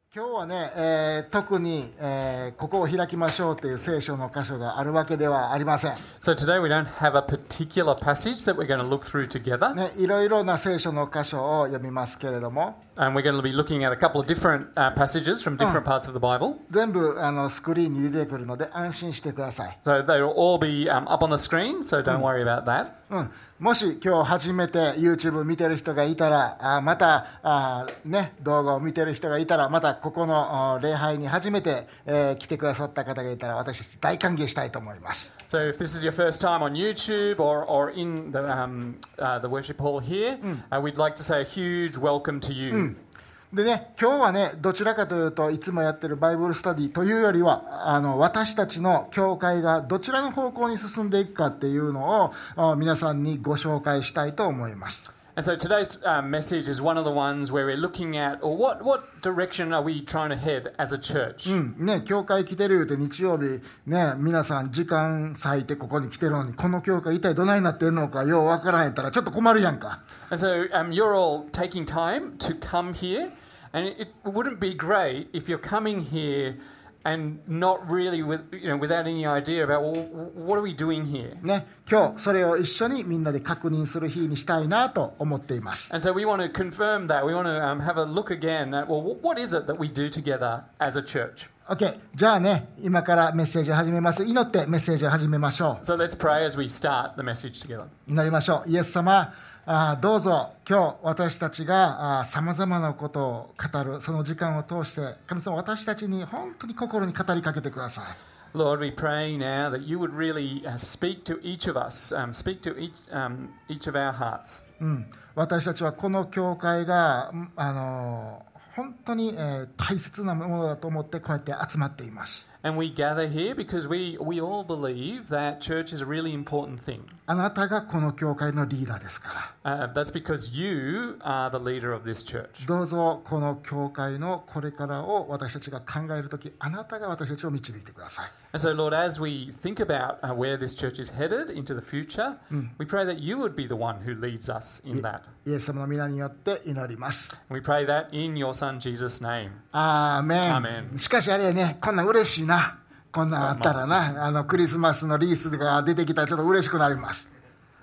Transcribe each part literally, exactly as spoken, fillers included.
今日はね、えー、特に、えー、ここを開きましょうという聖書の箇所があるわけではありません。 So today we don't have a particular passage that we're going to look through together. ね、いろいろな聖書の箇所を読みますけれども、 And we're going to be looking at a couple of different uh, passages from different parts of the Bible. 全部あのスクリーンに出てくるので安心してください。 So they will all be um, up on the screen, so don't worry about that. うん、もし今日初めて YouTube 見てる人がいたら、あまたあ、ね、動画を見てる人がいたら、またここの礼拝に初めて、えー、来てくださった方がいたら、私たち大歓迎したいと思います。 So if this is your first time on YouTube or, or in the, um, uh, the worship hall here, uh, we'd like to say a huge welcome to you. うんでね、今日はね、どちらかというといつもやってるバイブルスタディというよりは、あの私たちの教会がどちらの方向に進んでいくかっていうのを皆さんにご紹介したいと思います。 And so today's uh, message is one of the ones where we're looking at, or what, what direction are we trying to head as a church? うんね、教会来てるって日曜日ね、皆さん時間割いてここに来てるのに、この教会一体どないなってんのかようわからんやったらちょっと困るやんか。 And so um, you're all taking time to come here, and it, it wouldn't be great if you're coming here and not really with, you know, without any idea about, well, what are we doing here? ね、今日それを一緒にみんなで確認する日にしたいなと思っています。 And so we want to confirm that. We want to um, have a look again at, well, what is it that we do together as a church? OK、じゃあね、今からメッセージを始めます。祈ってメッセージを始めましょう。 So let's pray as we start the message together. 祈りましょう。イエス様、あどうぞ今日私たちがさまざまなことを語るその時間を通して、神様私たちに本当に心に語りかけてください。 Lord, we pray now that you would really uh, speak to each of us, um, speak to each, um, each of our hearts. うん、私たちはこの教会があの本当に、えー、大切なものだと思ってこうやって集まっています。 And we gather here because we, we all believe that church is a really important thing. あなたがこの教会のリーダーですから。 Uh, that's because you are the leader of this church. どうぞこの教会のこれからを私たちが考えるとき、あなたが私たちを導いてください。 And so, Lord, as we think about uh, where this church is headed into the future, we pray that you would be the one who leads us in that. イエス様の皆によって祈ります。 We pray that in your Son Jesus' name. アーメン。 アーメン。 しかしあれやね、こんなん嬉しいな。こんなんあったらな、あのクリスマスのリースが出てきたらちょっと嬉しくなります。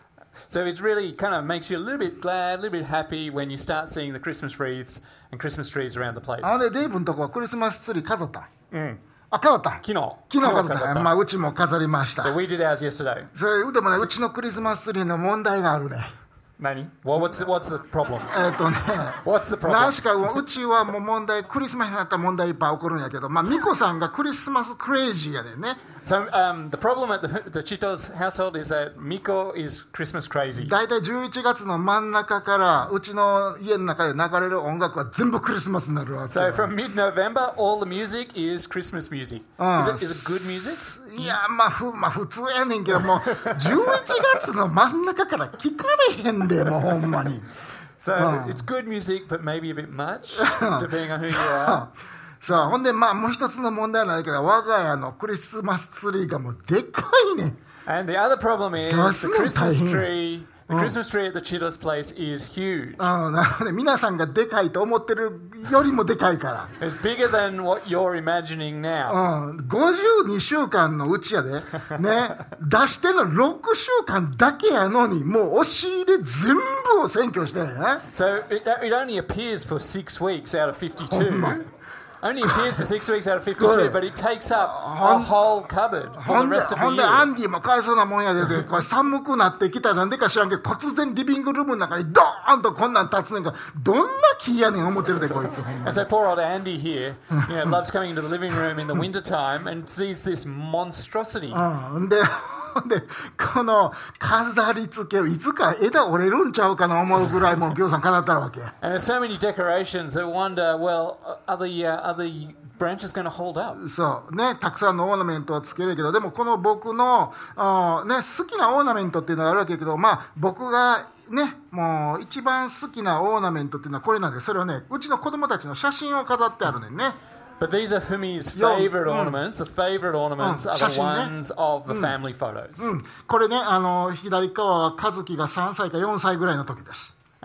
So it really kind of makes you a little bit glad, a little bit happy when you start seeing the Christmas wreaths and Christmas trees around the place. あのね、デイブのとこはクリスマスツリー飾った。 うん。 あ、飾った。 昨日。 昨日飾った。まあうちも飾りました。 So we did ours yesterday. それでもね、うちのクリスマスツリーの問題があるね。 何? Well, what's the, what's the problem? えっとね、 what's the problem? 何しかうちはもう問題、クリスマスになったら問題いっぱい起こるんやけど、まあミコさんがクリスマスクレイジーやねんね。 So um, the problem at the, the Chito's household is that Miko is Christmas crazy. だいたいじゅういちがつの真ん中からうちの家の中で流れる音楽は全部クリスマスになるわけ。 So from mid-November, all the music is Christmas music. Is it, is it good music? いや、まあ、ふまあ、普通やねんけども、じゅういちがつの真ん中から聞かれへんで、もうほんまに。 So it's good music, but maybe a bit much, depending on who you are. さあ、ほんで、まあ、もう一つの問題なんだけど、我が家のクリスマスツリーがもうでかいね。 And the other problem is the Christmas tree, the Christmas tree at the Chito's place is huge. あなので、皆さんがでかいと思ってるよりもでかいから。 It's bigger than what you're imagining now. うん、ごじゅうにしゅうかんのうちやで、ね、出してのろくしゅうかんだけやのに、もう押し入れ全部を占拠してね。 So it, it only appears for six weeks out of fifty-two. Only appears for six weeks out of fifty-two, but it takes up a whole cupboard for the rest of the year. ほんで、アンディもかわいそうなもんやで、これ寒くなってきたらなんでか知らんけど、突然リビングルームの中にドーンとこんなん立つねんから、どんな気やねん思ってるで、こいつ。 And so poor old Andy here, you know, loves coming into the living room in the winter time and sees this monstrosity. うん、で、で、この飾り付けをいつか枝折れるんちゃうかな思うぐらいもうぎょうさん飾ったわけ。 And there's so many decorations that wonder, well, are the, uh, are the branches going to hold up? そうね、たくさんのオーナメントはつけるけど、でもこの僕のあ、ね、好きなオーナメントっていうのがあるわけだけど、まあ僕がね、もう一番好きなオーナメントっていうのはこれなんで、それをね、うちの子供たちの写真を飾ってあるねんね。 But these are Fumi's favorite ornaments. The favorite ornaments are the ones of the family photos. うん、これね、あの左側は和樹がさんさいかよんさいぐらいの時です。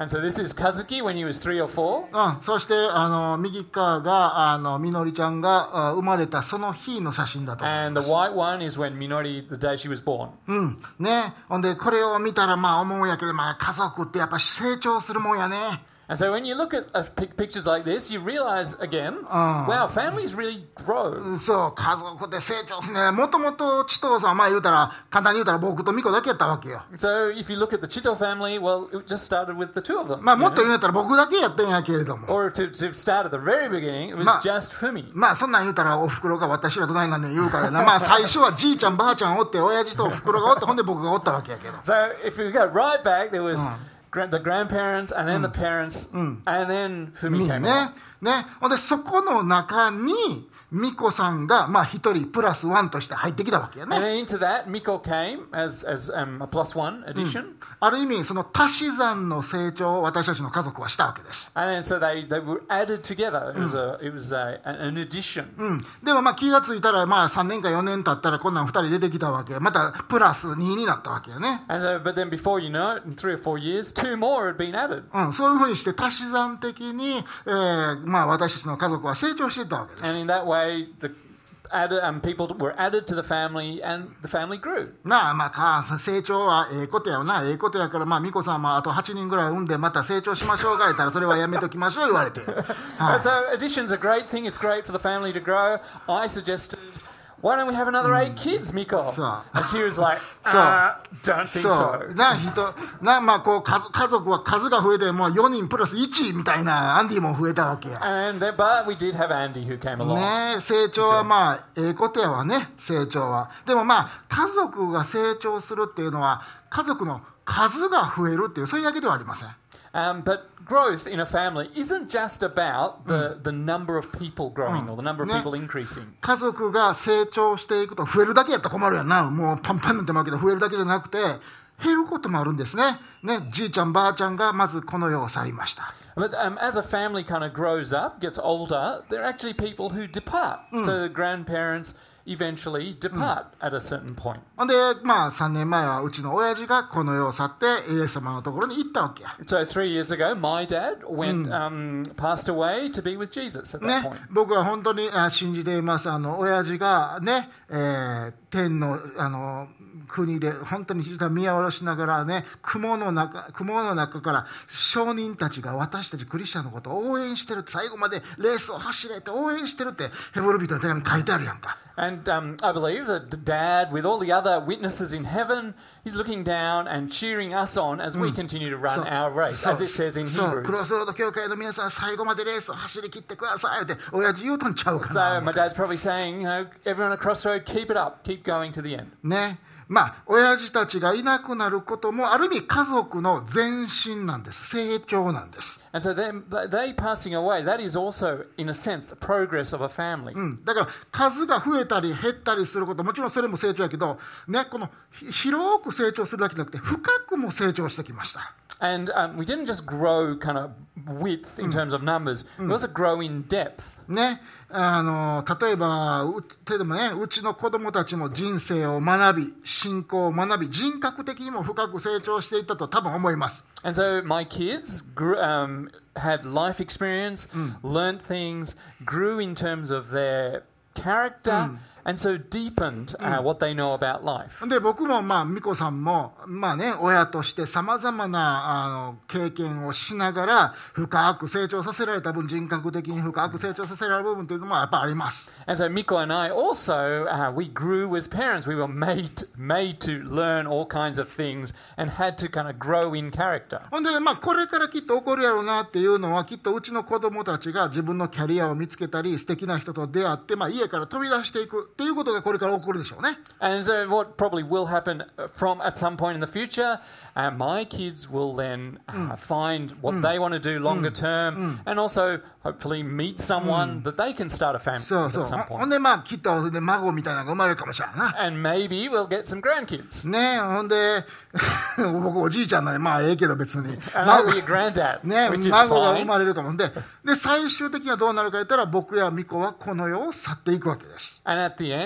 And so this is Kazuki when he was three or four. うん、そしてあの右側があのみのりちゃんがあ生まれたその日の写真だと思い And ま the す。 white one is when Minori, the day she was born. うんね、ほんでこれを見たらまあ思うんやけど、まあ、家族ってやっぱ成長するもんやね。 And so when you look at uh, pic- pictures like this, you realize again, wow, families really grow. そう家族って成長すね。もともとチトーさんはまあ言うたら簡単に言うたら僕とミコだけやったわけよ。 So if you look at the Chito family, well, it just started with the two of them. まあもっ you と know? 言うたら僕だけやったんやけれども。 Or to, to start at the very beginning, it was Ma- just Fumi. まあそんなん言うたらお袋が私らどないなんねん言うからな。まあ最初はじいちゃんばあちゃんおって親父とお袋がおってほんで僕がおったわけやけど。 So if we go right back, there was gra- the grandparents and then the parents and then Fumi み came ね along. ね。ほんでそこの中にミコさんがまあ一人プラスワンとして入ってきたわけや And ね。 then into that, Miko came as, as um, a plus one addition. ある意味その足し算の成長を私たちの家族はしたわけです。 And then so they, they were added together. It was, a, it was a, an addition. うん、でもまあ気がついたらまあさんねんかよねん経ったらこんなんふたり出てきたわけ。またプラスにになったわけやね。 And so, but then before you know it, in three or four years, two more had been added. うん、そういうふうにして足し算的に、えーまあ、私たちの家族は成長していったわけです。 And in that way, the added, um, people were added to the family and the family grew. なあまあか成長はええことやよな。ええことやからまあ美子さんもあとはちにんぐらい産んでまた成長しましょうが言ったらそれはやめときましょう言われて、は And い so addition's a great thing. It's great for the family to grow. I suggested, why don't we have another eight kids, Miko? So- And she was like, So- uh, don't think そ so. うな人なまあこう家家族は数が増えてもうよにんプラスいちみたいなアンディも増えたわけや。 And then, but we did have Andy who came along. ねえ成長はまあええことやわね。成長はでもまあ家族が成長するっていうのは家族の数が増えるっていうそれだけではありません。 Um, but growth in a family isn't just about the, the number of people growing or the number of Ne- people increasing. 家族が成長していくと増えるだけやったら困るやんな。もうパンパンになってまうけど増えるだけじゃなくて減ることもあるんですね。ね、じいちゃんばあちゃんがまずこの世を去りました。 But um, as a family kind of grows up, gets older, there are actually people who depart. So the grandparents eventually depart at a certain point. ほんでまあさんねんまえはうちの親父がこの世を去ってイエス様のところに行ったわけや。 So three years ago, my dad went, um, passed away to be with Jesus at that ね point. 僕は本当にあ信じています。あの親父がね、えー天のあの国で本当に見下ろしながらね雲の中雲の中から商人たちが私たちクリスチャンのことを応援してるって最後までレースを走れて応援してるってヘブル人の手紙に書いてあるやんか。 And um, I believe that Dad, with all the other witnesses in heaven, he's looking down and cheering us on as we continue to run our race, as it says in そうクロ Hebrews. スロード教会の皆さん最後までレースを走り切ってくださいって親父言うとんちゃうか So な my dad's probably saying, you know, everyone at Crossroad, keep it up, keep going to the end. ね。まあ親父たちがいなくなることもある意味家族の前進なんです。成長なんです。 And so them, they passing away, that is also, in a sense, the progress of a family. うん、だから数が増えたり減ったりすることもちろんそれも成長やけど、ね、このひ広く成長するだけじゃなくて深くも成長してきました。 And um, we didn't just grow kind of width in terms of numbers, we also grow in depth. ね、あの例えばう例えばね、うちの子供たちも人生を学び信仰を学び人格的にも深く成長していったと多分思います。 And so my kids grew, um, had life experience, learned things, grew in terms of their character, and so deepened uh, what they know about life. で僕もまあ美子さんもまあね親としてさまざまなあの経験をしながら深く成長させられた分人格的に深く成長させられる部分というのもやっぱあります。 And so Miko and I also, uh, we grew as parents. We were made, made to learn all kinds of things and had to kind of grow in character. ほんでまあこれからきっと起こるやろうなっていうのはきっとうちの子供たちが自分のキャリアを見つけたり素敵な人と出会ってまあ家から飛び出していくっていうことがこれから起こるでしょうね。 And so what probably will happen from at some point in the future, uh, my kids will then uh, find what they want to do longer term and also hopefully meet someone that they can start a family そう with そう at some ほ point. んでまあきっとで孫みたいなのが生まれるかもしれないな。 And maybe we'll get some grandkids. ねえほんで僕おじいちゃんなんでまあええけど別に And I'll be a granddad, ね which is 孫が生 fine. まれるかもでで最終的にはどうなるか言ったら僕や美子はこの世を去っていくわけです。 And at the end,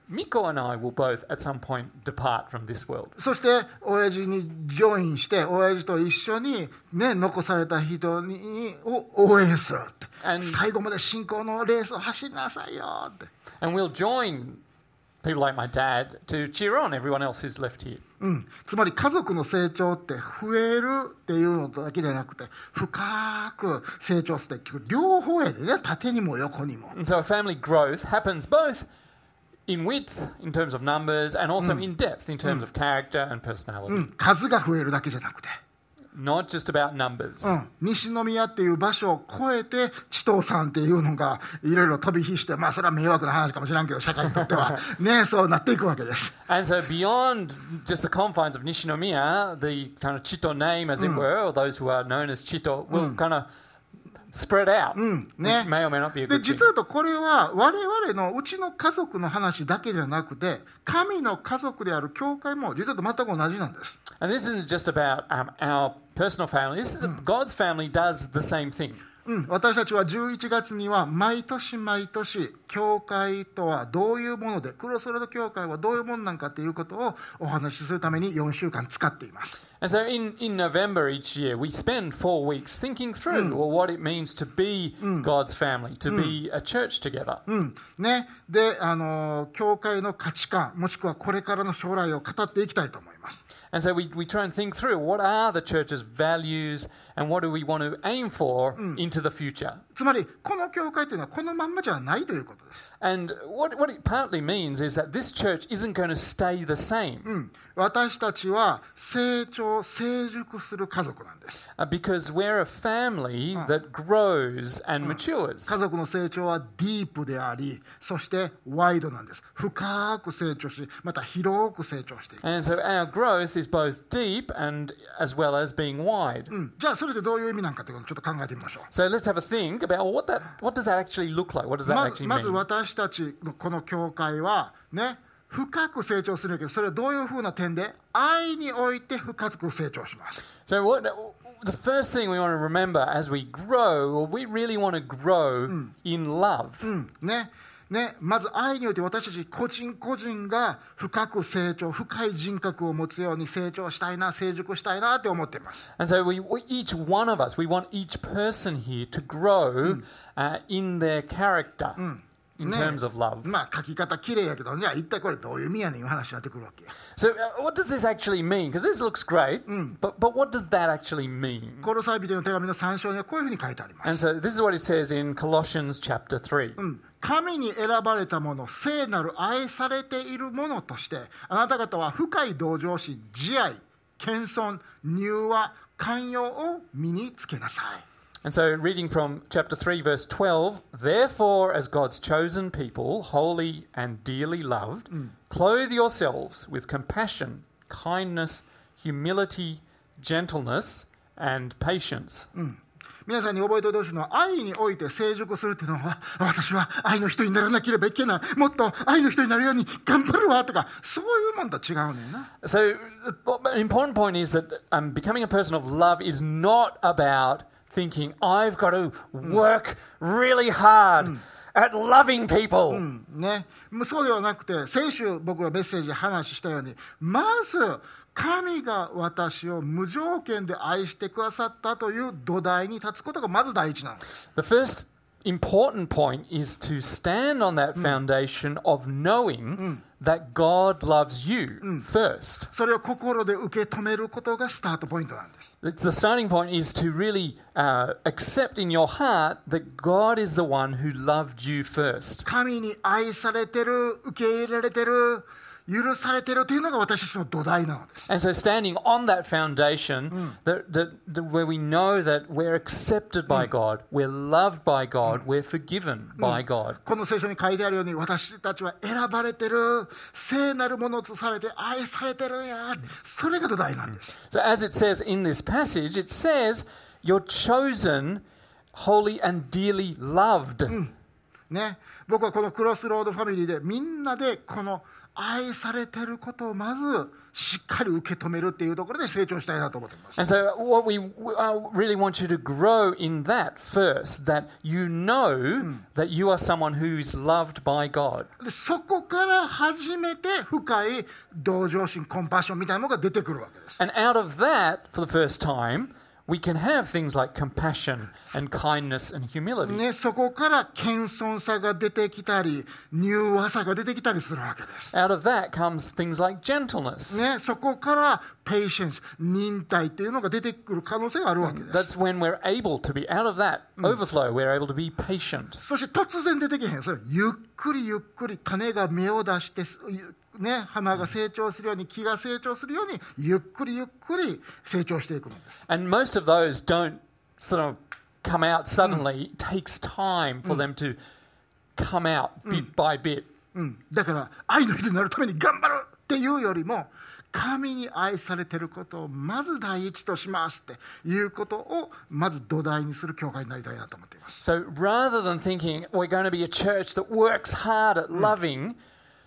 Miko and I will both at some point depart from this world. そして親父にジョインして親父と一緒に、ね、残された人にを応援するって、 And- 最後まで信仰のレースを走りなさいよって、 And we'll join people like my dad to cheer on everyone else who's left here. うん、つまり家族の成長って増えるっていうのだけじゃなくて深く成長するって両方やでね、縦にも横にも。 And so family growth happens both in width in terms of numbers and also in depth in terms of character and personality. うん、数が増えるだけじゃなくて、 Not just about numbers. うん、西宮っていう場所を超えて千藤さんっていうのがいろいろ飛び火して、まあそれは迷惑な話かもしれんけど社会にとってはね、そうなっていくわけです。 And so beyond just the confines of Nishinomiya, the kind of Chito name, as it were, or those who are known as Chito, will kind of spread out. ね Which may or may not be a で good thing. 実は言うとこれは我々のうちの家族の話だけじゃなくて神の家族である教会も実は全く同じなんです。 And this isn't just about um, our personal family. This is a, God's family does the same thing. うん、私たちはじゅういちがつには毎年毎年教会とはどういうものでクロスロード教会はどういうものなんかということをお話しするためによんしゅうかん使っています。 And so in, in November each year, we spend four weeks thinking through well, what it means to be God's family, to be a church together. うんね、で、あの教会の価値観もしくはこれからの将来を語っていきたいと思います。 And so we, we try and think through what are the church's values and what do we want to aim for into the future. つまりこの教会というのはこのまんまじゃないということです。 And what, what it partly means is that this church isn't going to stay the same. うん、私たちは成長成熟する家族なんです。 Uh, because we're a family that grows and matures. 家族の成長はディープであり、そしてワイドなんです。深く成長し、また広く成長していく。 And so our growth is both deep and as well as being wide. うん、じゃあそれでどういう意味なんかということをちょっと考えてみましょう。 So let's have a think about well, what that what does that actually look like? What does that ま actually まず mean? 私たちのこの教会はね、深く成長するんだけど、それはどういうふうな点で愛において深く成長します。 So what the first thing we want to remember as we grow, or we really want to grow in love. うんねね、まず愛において私たち個人個人が深く成長、深い人格を持つように成長したいな、成熟したいなって思っています。 And so we, we each one of us, we want each person here to grow uh, in their character in ね terms of love. まあ書き方綺麗やけど、じゃあ一体これどういう意味やねんいう話になってくるわけ。 So uh, what does this actually mean? Because this looks great, but but what does that actually mean? コロサイ人への手紙のさん章にはこういうふうに書いてありま And す。 so this is what it says in Colossians chapter three. うん神に選ばれたもの、聖なる愛されているものとして、あなた方は深い同情心、慈愛、謙遜、柔和、寛容を身につけなさい。 And so, reading from chapter three, verse twelve, therefore, as God's chosen people, holy and dearly loved, clothe yourselves with compassion, kindness, humility, gentleness, and patience. 皆さんに覚えておいてほしいのは、愛において成熟するっていうのは、私は愛の人にならなければいけない、もっと愛の人になるように頑張るわとか、そういうもんと違うねんな。 So, an important point is that um, becoming a person of love is not about thinking, I've got to work really hard at loving people. うんね、そうではなくて、先週僕がメッセージで話したように、まず神が私を無条件で愛してくださったという土台に立つことがまず第一なんです。 The first important point is to stand on that foundation of knowing that God loves you first. それを心で受け止めることがスタートポイントなんです。 It's the starting point is to really uh, accept in your heart that God is the one who loved you first. 神に愛されてる、受け入れられてる、許されてるというのが私たちの土台なのです。 And so standing on that foundation, that, that, that where we know that we're accepted by God, we're loved by God, we're forgiven by God. この聖書に書いてあるように、私たちは選ばれてる、聖なるものとされて愛されてるんや。それが土台なんです。 So as it says in this passage, it says, you're chosen, holy and dearly loved. ね、僕はこのクロスロードファミリーでみんなでこの愛されてることをまずしっかり受け止めるっていうところで成長したいなと思っています。 And so what we uh, really want you to grow in that first, that you know that you are someone who's loved by God. でそこから初めて深い同情心、コンパッションみたいなものが出てくるわけです。 And out of that, for the first time, we can have things like compassion and kindness and humility. ね、そこから謙遜さが出てきたり、柔和さが出てきたりするわけです。 Out of that comes things like gentleness. ね、そこからpatience、忍耐っていうのが出てくる可能性があるわけです。 That's when we're able to be, out of that overflow, we're able to be patient. そして突然出てきへん。それゆっくりゆっくり種が芽を出して、ね、花が成長するように、木が成長するように、ゆっくりゆっくり成長していくのです。 And most of those don't sort of come out suddenly. It takes time for them to come out bit by bit. うん、だから愛の人になるために頑張るっていうよりも、神に愛されていることをまず第一としますっていうことをまず土台にする教会になりたいなと思っています。 So rather than thinking we're going to be a church that works hard at loving,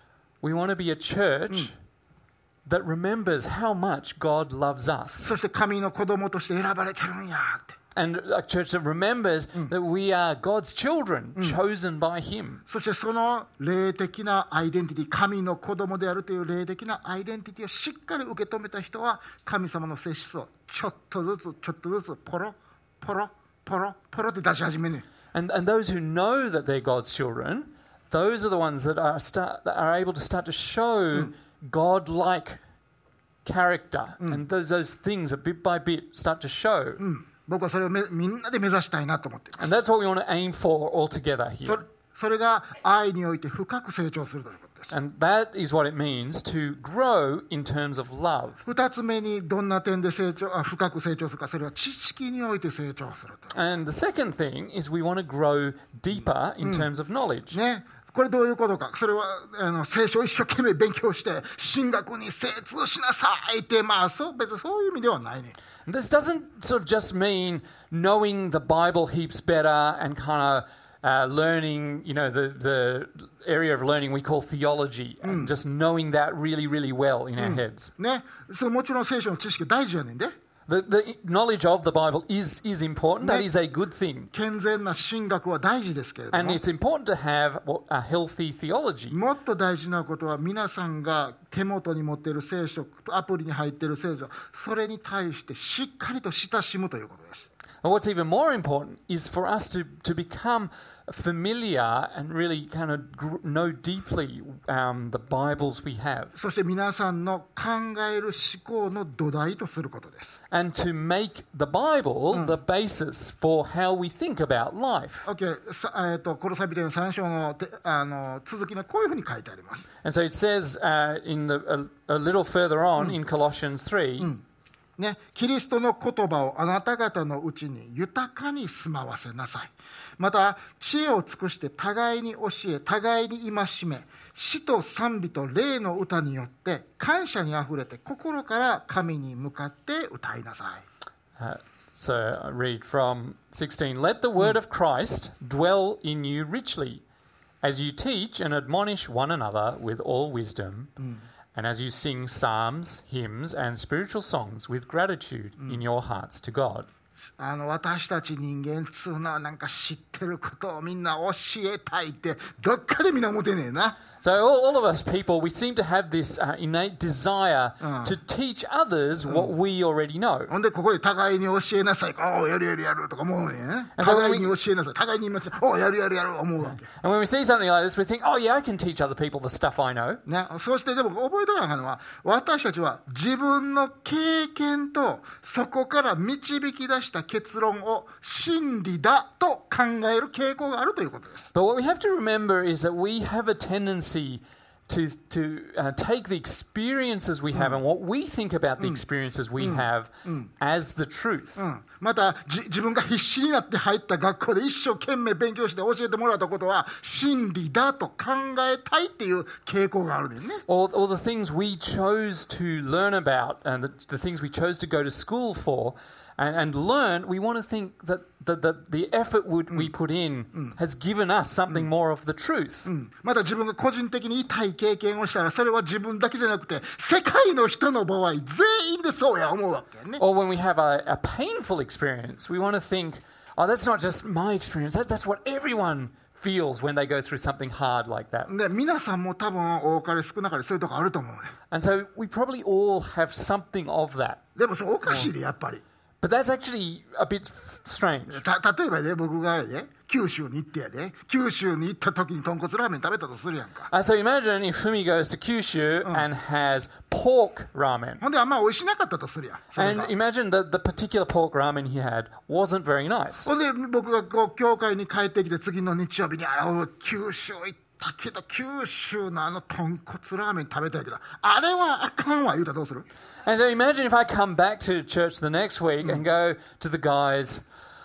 we want to be a church that remembers how much God loves us. そして神の子供として選ばれてるんやって。 And a church that remembers that we are God's children, chosen by Him. そしてその霊的なアイデンティティ、神の子供であるという霊的なアイデンティティをしっかり受け止めた人は、神様の性質をちょっとずつちょっとずつポロポロポロポロって出し始めね。 And and those who know that they're God's children, those are the ones that are start that are able to start to show God-like character, and those those things that bit by bit start to show. 僕はそれをめみんなで目指したいなと思っています。 And that's what we want to aim for all together そ here. れ、それが愛において深く成長するということです。 And that is what it means to grow in terms of love. 二つ目にどんな点で成長あ深く成長するか、それは知識において成長すると。 And the second thing is we want to grow deeper in terms of knowledge. ね、これどういうことか。それはあの聖書を一生懸命勉強して神学に精通しなさいって、まあそう別にそういう意味ではないね。 This doesn't sort of just mean knowing the Bible heaps better and kind of uh, learning, you know, the, the area of learning we call theology, and just knowing that really, really well in our heads. ね、それもちろん聖書の知識大事やねんで。 The, the knowledge of the Bible is, is important. That is a good thing. 健全な神学は大事ですけれど And も、 it's important to have what- a healthy theology. もっと大事なことは皆さんが手元に持っている聖書、アプリに入っている聖書、それに対してしっかりと親しむということです。 And what's even more important is for us to, to become familiar and really kind of gr- know deeply um, the Bibles we have. そして皆さんの考える思考の土台とすることです。 And to make the Bible the basis for how we think about life. OK、さえー、とコロサイ人へのさん章のてあの続きにこういうふうに書いてあります。 And so it says uh, in the, a, a little further on in Colossians three, ね、キリストの言葉をあなた方のうちに豊かに住まわせなさい。また知恵を尽くして互いに教え、互いに戒め、詩と賛美と霊の歌によって感謝にあふれて心から神に向かって歌いなさい。 uh, so I read from sixteen, let the word of Christ dwell in you richly, as you teach and admonish one another with all wisdom, and as you sing psalms, hymns, and spiritual songs with gratitude in your hearts to God. あの私たち人間っつうのはなんか知ってることをみんな教えたいってどっかでみんな思ってねえな。 So all, all of us people, we seem to have this uh, innate desire to teach others what we already know. ほんでここで互いに教えなさい。おうやるやるやるとか思うね。互いに教えなさい。互いに言います。おうやるやるやる思うわけ。 And when we see something like this, we think, oh yeah, I can teach other people the stuff I know. ね、そしてでも覚えておかなあかんのは、私たちは自分の経験とそこから導き出した結論を真理だと考える傾向があるということです。 But what we have to remember is that we have a tendency to to uh, take the experiences we have and what we think about the experiences we have as the truth. うん、またじ自分が必死になって入った学校で一生懸命勉強して教えてもらったことは真理だと考えたいっていう傾向があるねんね。 Or, or the things we chose to learn about and the, the things we chose to go to school for and, and learn, we want to think that the, the, the effort would, we put in has given us something more of the truth. うん、また自分が個人的に痛い経験をしたらそれは自分だけじゃなくて世界の人の場合全員でそうや思うわけね。 Or when we have a, a painful experience, we want to think, oh, that's not just my experience, that, that's what everyone feels when they go through something hard like that. で皆さんも多分多かれ少なかれそういうとこあると思うね。 And so we probably all have something of that. でもそれおかしいでやっぱり。 But that's actually a bit strange. た例えばね僕がね九州に行ってやで九州に行った時に豚骨ラーメン食べたとするやんか。 Uh, so imagine if Fumi goes to Kyushu and has pork ramen. ほんであんま美味しなかったとするやん。それ And が imagine that the particular pork ramen he had wasn't very nice. ほんで僕がこう教会に帰ってきて次の日曜日にあ俺九州行ったけど九州のあの豚骨ラーメン食べたいけどあれはあかんわ言うたらどうする？ And so imagine if I come back to church the next week and go to the guys,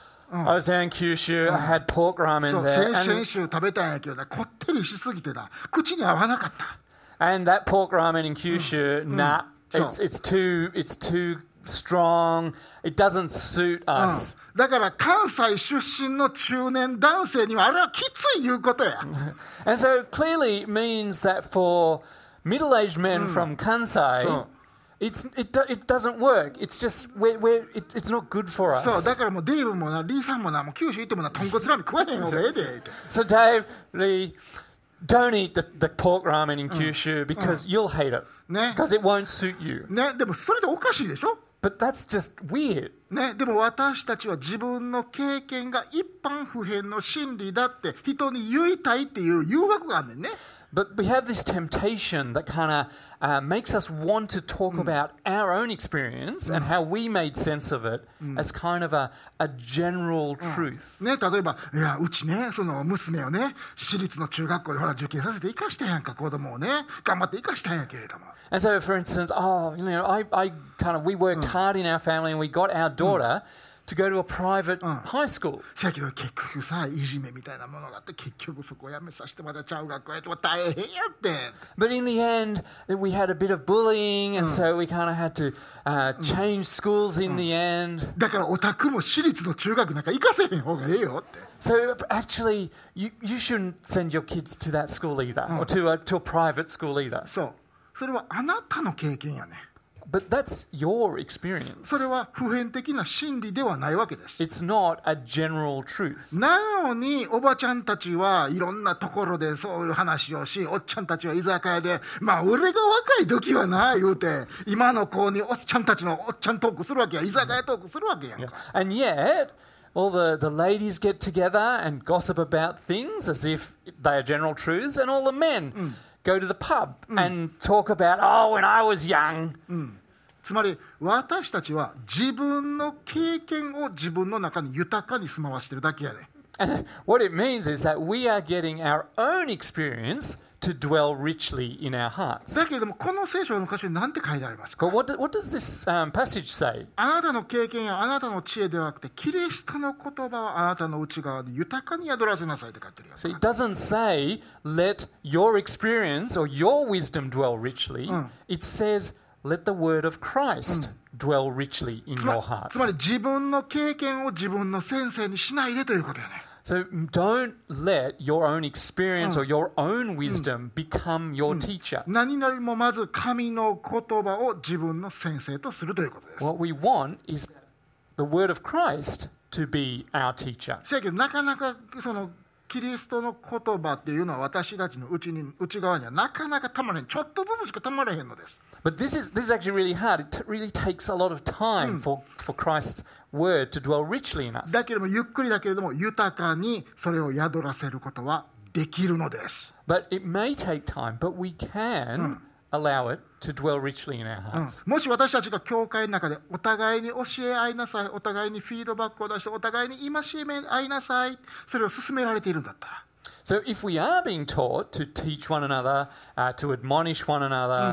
I was down in Kyushu, I had pork そ ramen う there, 先 and, 週食べたんやけどなこってりしすぎてな口に合わなかった。 and that pork ramen in Kyushu, nah, So- it's, it's too, it's too strong, it doesn't suit うん us. だから関西出身の中年男性にはあれはきついいうことや。 And so clearly it means that for middle-aged men from Kansai, So- it's, it, do- it doesn't work. It's just, we're, we're, it, it's not good for us. そうだからもうデイブもなリーさんもなもう九州行ってもな豚骨ラーメン食わへん方がええでって。 So Dave, Lee, don't eat the, the pork ramen in Kyushu because you'll hate it. ね Because it won't suit you. ねでもそれでおかしいでしょ。 But that's just weird. ね、でも私たちは自分の経験が一般普遍の真理だって人に言いたいっていう誘惑があんねんね。 But we have this temptation that kind of uh, makes us want to talk about our own experience and how we made sense of it as kind of a, a general truth. ね、例えばいやうちねその娘をね私立の中学校でほら受験させて生かしたやんか子供をね頑張って生かしたんやけれども。 And so, for instance, oh, you know, I, I kind of, we worked hard in our family and we got our daughter to go to a private high school. せやけど結局さいじめみたいなものがあって結局そこをやめさせてまたちゃう学校やっても大変やって。 But in the end, we had a bit of bullying, and so we kind of had to uh, change schools in the end. だからオタクも私立の中学なんか行かせへん方がええよって。 So actually, you, you shouldn't send your kids to that school either, or to a, to a private school either. そうそれはあなたの経験やね。 But that's your experience. それは普遍的な真理ではないわけです。 It's not a general truth. なのにおばちゃんたちはいろんなところでそういう話をしおっちゃんたちは居酒屋でまあ俺が若い時はな言うて今の子におっちゃんたちのおっちゃんトークするわけや居酒屋トークするわけやんか。 And yet, all the, the ladies get together and gossip about things as if they are general truths, and all the men go to the pub and talk about, oh, when I was young. つまり私たちは自分の経験を自分の中に豊かに住まわしてるだけやね。 And what it means is that we are getting our own experience to dwell richly in our hearts. だけれどもこの聖書の箇所に何て書いてありますか。 But what, do, what does this um, passage say? あなたの経験やあなたの知恵ではなくてキリストの言葉をあなたの内側に豊かに宿らせなさいって書いてるやん So か。 it doesn't say, let your experience or your wisdom dwell richly. It says, let the word of Christ dwell richly in つま your hearts. つまり自分の経験を自分の先生にしないでということやね。 So don't let your own experience or your own wisdom become your teacher. 何よりもまず神の言葉を自分の先生とするということです。 What we want is the word of Christ to be our teacher. せやけどなかなかそのキリストの言葉っていうのは私たちの内に内側にはなかなかたまれんちょっとずつしかたまれへんのです。 But this is this is actually really hard. It t- really takes a lot of time for, for Christ's word to dwell richly in us. だけれどもゆっくりだけれども豊かにそれを宿らせることはできるのです。 But it may take time, but we can allow it to dwell richly in our うん hearts. もし私たちが教会の中でお互いに教え合いなさいお互いにフィードバックを出してお互いに戒め合いなさいそれを勧められているんだったら So if we are being taught to teach one another, uh, to admonish one another,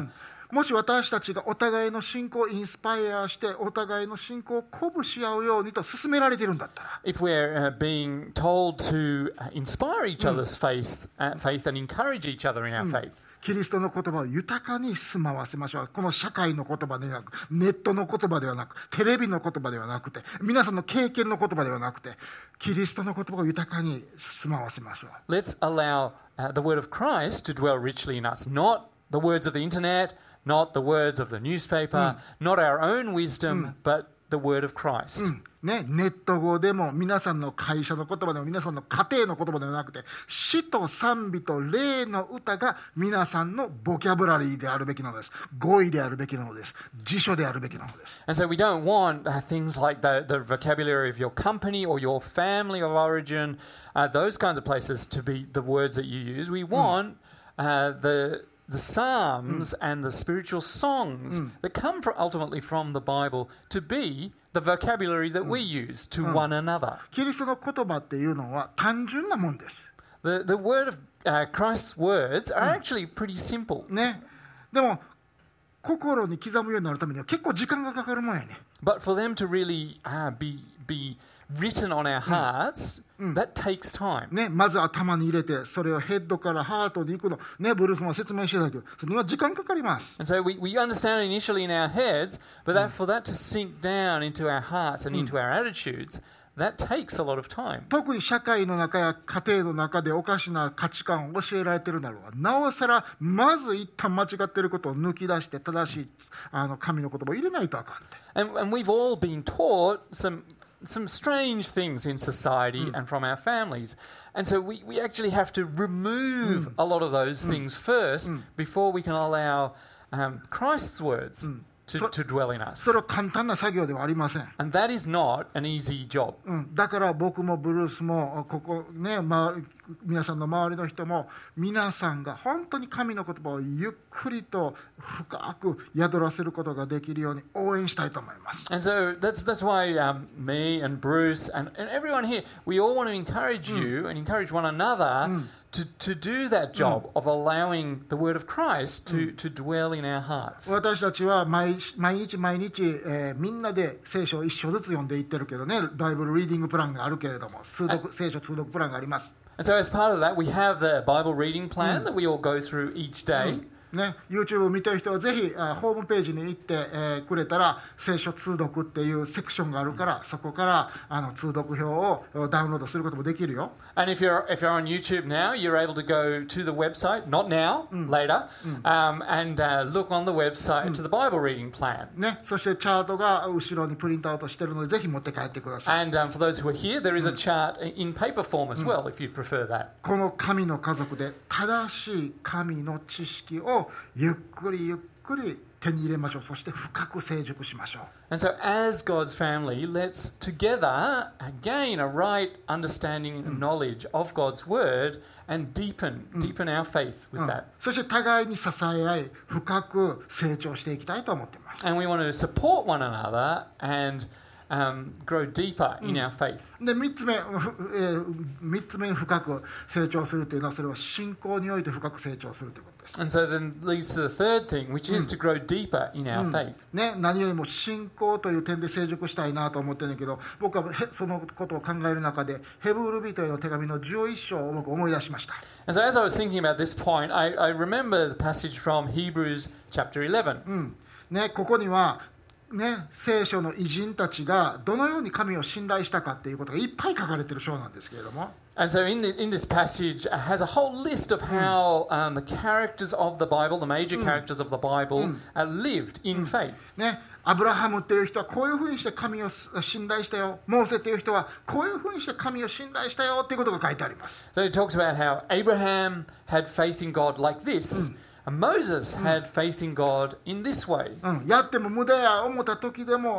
もし私たちがお互いの信仰をインスパイアしてお互いの信仰を鼓舞し合うようにと勧められているんだったら、 If we're uh, being told to uh, inspire each other's faith, uh, faith and encourage each other in our faith, キリストの言葉を豊かに住まわせましょう。この社会の言葉ではなく、ネットの言葉ではなく、テレビの言葉ではなくて、皆さんの経験の言葉ではなくて、キリストの言葉を豊かに住まわせましょう。 let's allow uh, the word of Christ to dwell richly in us, not the words of the internet, not the words of the newspaper, not our own wisdom, but the word of Christ. ね、ネット語でも皆さんの会社の言葉でも皆さんの家庭の言葉ではなくて、詩と賛美と霊の歌が皆さんのボキャブラリーであるべきなのです。語彙であるべきなのです。辞書であるべきなのです。 And so we don't want uh, things like the, the vocabulary of your company or your family of origin, uh, those kinds of places to be the words that you use. We want uh, the the psalms and the spiritual songs that come from, ultimately from the Bible to be the vocabulary that we use to one another. キリストの言葉っていうのは単純なもんです。 The, the word of uh, Christ's words are actually pretty simple. ね。でも心に刻むようになるためには結構時間がかかるもんやね。 But for them to really uh, be, be written on our hearts, that takes time. ね、まず頭に入れて、それをヘッドからハートに行くの。ね、ブルースも説明してたけど、それには時間かかります。 And so we, we understand it initially in our heads, but that, for that to sink down into our hearts and into our attitudes, that takes a lot of time. 特に社会の中や家庭の中でおかしな価値観を教えられているならば、なおさらまず一旦間違っていることを抜き出して正しいあの神の言葉を入れないとあかんって。 And, and we've all been taught some some strange things in society and from our families. And so we, we actually have to remove a lot of those things first before we can allow um, Christ's words to, to dwell in us. それは簡単な作業ではありません。 And that is not an easy job. うん、だから僕もブルースもここね、ま、皆さんの周りの人も皆さんが本当に神の言葉をゆっくりと深く宿らせることができるように応援したいと思います。 And so that's that's why um, me and Bruce and, and everyone here, we all want to encourage you and encourage one another to, to do that job of allowing the word of Christ to, to dwell in our hearts. 私たちは毎毎日毎日、えー、みんなで聖書を一章ずつ読んでいってるけどね、バイブルリーディングプランがあるけれども、通読聖書通読プランがあります。 And so as part of that, we have the Bible reading plan that we all go through each day. ね、YouTube を見てる人はぜひあホームページに行って、えー、くれたら聖書通読っていうセクションがあるから、そこからあの通読表をダウンロードすることもできるよ。 And if you're if you're on YouTube now, you're able to go to the website, not now, later, um, and uh, look on the website to the Bible reading plan. ね、そしてチャートが後ろにプリントアウトしてるのでぜひ持って帰ってください。 And um, for those who are here, there is a chart in paper form as well, if you prefer that. この神の家族で正しい神の知識をゆっくりゆっくり手に入れましょう。そして深く成熟しましょう。 And so as God's family, let's together gain a right understanding and knowledge of God's word and deepen, deepen our faith with that. そして互いに支え合い深く成長していきたいと思っています。 And we want to support one another and um, grow deeper in our faith. でみっつめ、ふえー、みっつ目に深く成長するというのはそれは信仰において深く成長するということです。 And so then leads to the third thing, which is to grow deeper in our faith. ね、何よりも信仰という点で成熟したいなと思ってるんだけど、僕はへそのことを考える中でヘブル人への手紙のじゅういっ章を僕思い出しました。 And so as I was thinking about this point, I, I remember the passage from Hebrews chapter eleven. うんね、ここにはね、聖書の偉人たちがどのように神を信頼したかっていうことがいっぱい書かれている章なんですけれども、 And so in, the, in this passage uh, has a whole list of how um, the characters of the Bible, the major characters of the Bible, uh, lived in faith. ね、アブラハムっていう人はこういうふうにして神を信頼したよ。モーセっていう人はこういうふうにして神を信頼したよっていうことが書いてあります。 So it talks about how Abraham had faith in God like this. And Moses had faith in God in this way. うん、やっても無駄や思った時でも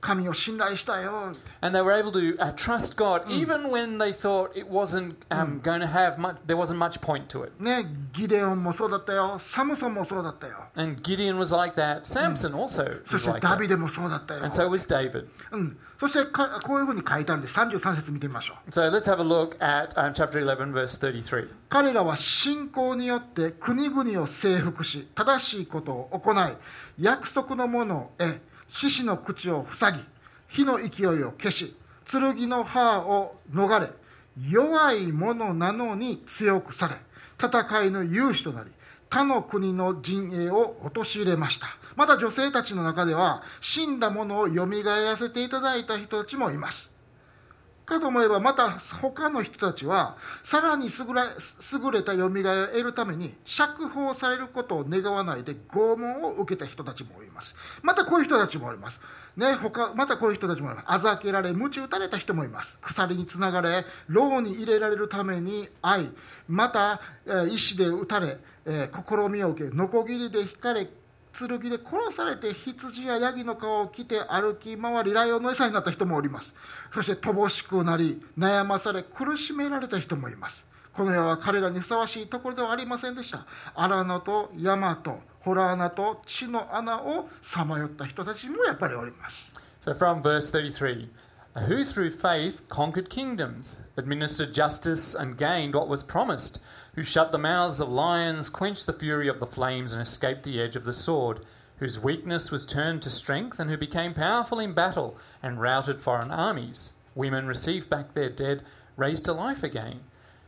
神を信頼したよ。 And they were able to uh, trust God even when they thought it wasn't um, going to have much, there wasn't much point to it. ね、ギデオンもそうだったよ。サムソンもそうだったよ。 And Gideon was like that. Samson also そ was して like ダ that. ビデもそうだったよ。 And so was David. うん、そしてかこういうふうに書いてあるんでさんじゅうさん節見てみましょう。 So let's have a look at um, chapter eleven, verse thirty-three. 彼らは信仰によって国々を征服し、正しいことを行い、約束のものを得、獅子の口を塞ぎ、火の勢いを消し、剣の刃を逃れ、弱い者なのに強くされ、戦いの勇士となり、他の国の陣営を陥れました。また女性たちの中では、死んだ者をよみがえらせていただいた人たちもいます。かと思えば、また他の人たちは、さらに優れ、優れたよみがえを得るために、釈放されることを願わないで拷問を受けた人たちもいます。またこういう人たちもいます。ね、他、またこういう人たちもいます。あざけられ、鞭打たれた人もいます。鎖につながれ、牢に入れられるために愛、また、えー、石で撃たれ、えー、試みを受け、ノコギリで引かれ、剣で殺されて羊やヤギの皮を着て歩き回りライオンの餌になった人もおります。そして乏しくなり悩まされ苦しめられた人もいます。この世は彼らにふさわしいところではありませんでした。荒野と山と洞穴と地の穴をさまよった人たちもやっぱりおります。 So from verse thirty-three, who through faith conquered kingdoms, administered justice and gained what was promised, who shut the mouths of lions, quenched the fury of the flames, and escaped the edge of the sword, whose weakness was turned to strength, and who became powerful in battle and routed foreign armies. Women received back their dead, raised to life again.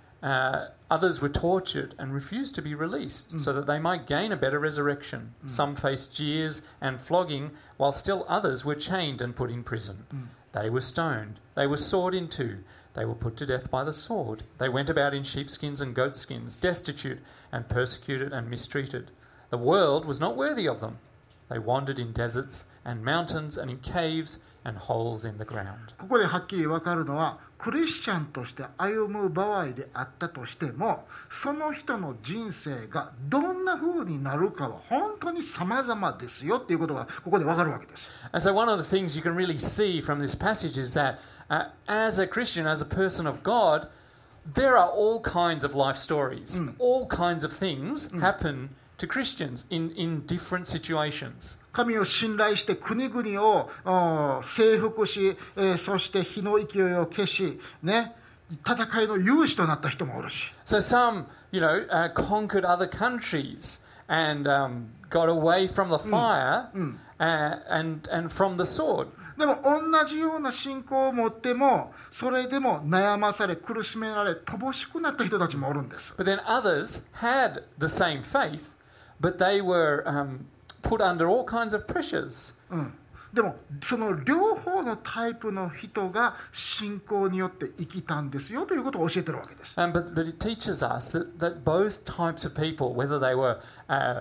Uh, others were tortured and refused to be released, mm. so that they might gain a better resurrection. Mm. Some faced jeers and flogging, while still others were chained and put in prison. Mm. They were stoned. They were sawed in two. They were put to death by the sword. They went about in sheepskins and goatskins, destitute and persecuted and mistreated. The world was not worthy of them. They wandered in deserts and mountains and in caves and holes in the ground. ここではっきり分かるのは、クリスチャンとして歩む場合であったとしても、その人の人生がどんな風になるかは本当に様々ですよっていうことがここで分かるわけです。 And so one of the things you can really see from this passage is that uh, as a Christian, as a person of God, there are all kinds of life stories. Mm. All kinds of things mm. happen to Christians in, in different situations. 神を信頼して国々を征服し、えー、そして火の勢いを消し、ね、戦いの勇士となった人もおるし。 So some, you know, uh, conquered other countries and um, got away from the fire、うんうん uh, and, and from the sword. でも同じような信仰を持っても、それでも悩まされ苦しめられ乏しくなった人たちもおるんです。 But then others had the same faith, but they were um, put under all kinds of pressures. うん、でもその両方のタイプの人が信仰によって生きたんですよということを教えてるわけです。 Um, but, but it teaches us that, that both types of people, whether they were uh,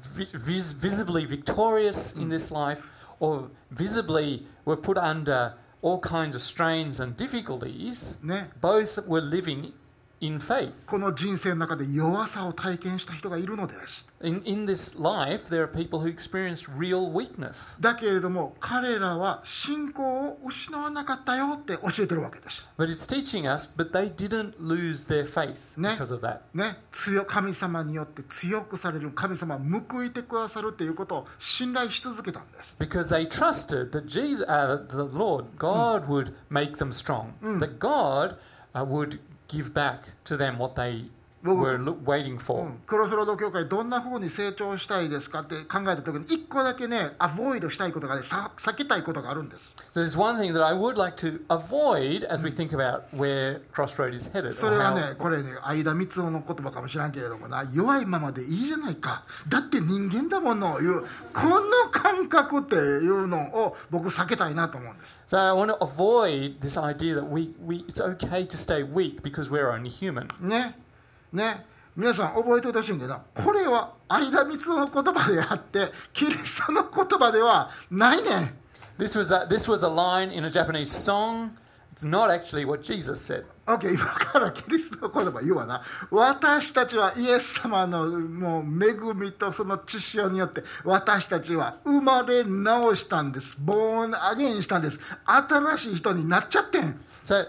vis- visibly victorious in this life or visibly were put under all kinds of strains and difficulties, ね、 both were living in faith. この人生の中で弱さを体験した人がいるのです。 In, in this life, there are people who experience real weakness. だけれども彼らは信仰を失わなかったよって教えてるわけです。 But it's teaching us, but they didn't lose their faith ね、 because of that. ね、強神様によって強くされる、神様は報いてくださるということを信頼し続けたんです。 Because they trusted that Jesus, uh, the Lord, God would make them strong. That God uh, would give back to them what they were lo- waiting for. うん、クロスロード教会どんな風に成長したいですかって考えた時に一個だけねアボイドしたいことがねさ避けたいことがあるんです。 So there's one thing that I would like to avoid as we think about where Crossroad is headed. それはねこれね相田光雄の言葉かもしれんけれどもな、弱いままでいいじゃないか、だって人間だものいうこの感覚っていうのを僕避けたいなと思うんです。 So I want to avoid this idea that we, we it's okay to stay weak because we're only human. ねね、皆さん覚えておいてほしいんだけど、これは相田光雄の言葉であってキリストの言葉ではないねん。 This was a, this was a line in a Japanese song It's not actually what Jesus said. OK、今からキリストの言葉言うわな。私たちはイエス様のもう恵みとその血潮によって私たちは生まれ直したんです。born again したんです。新しい人になっちゃってん。 So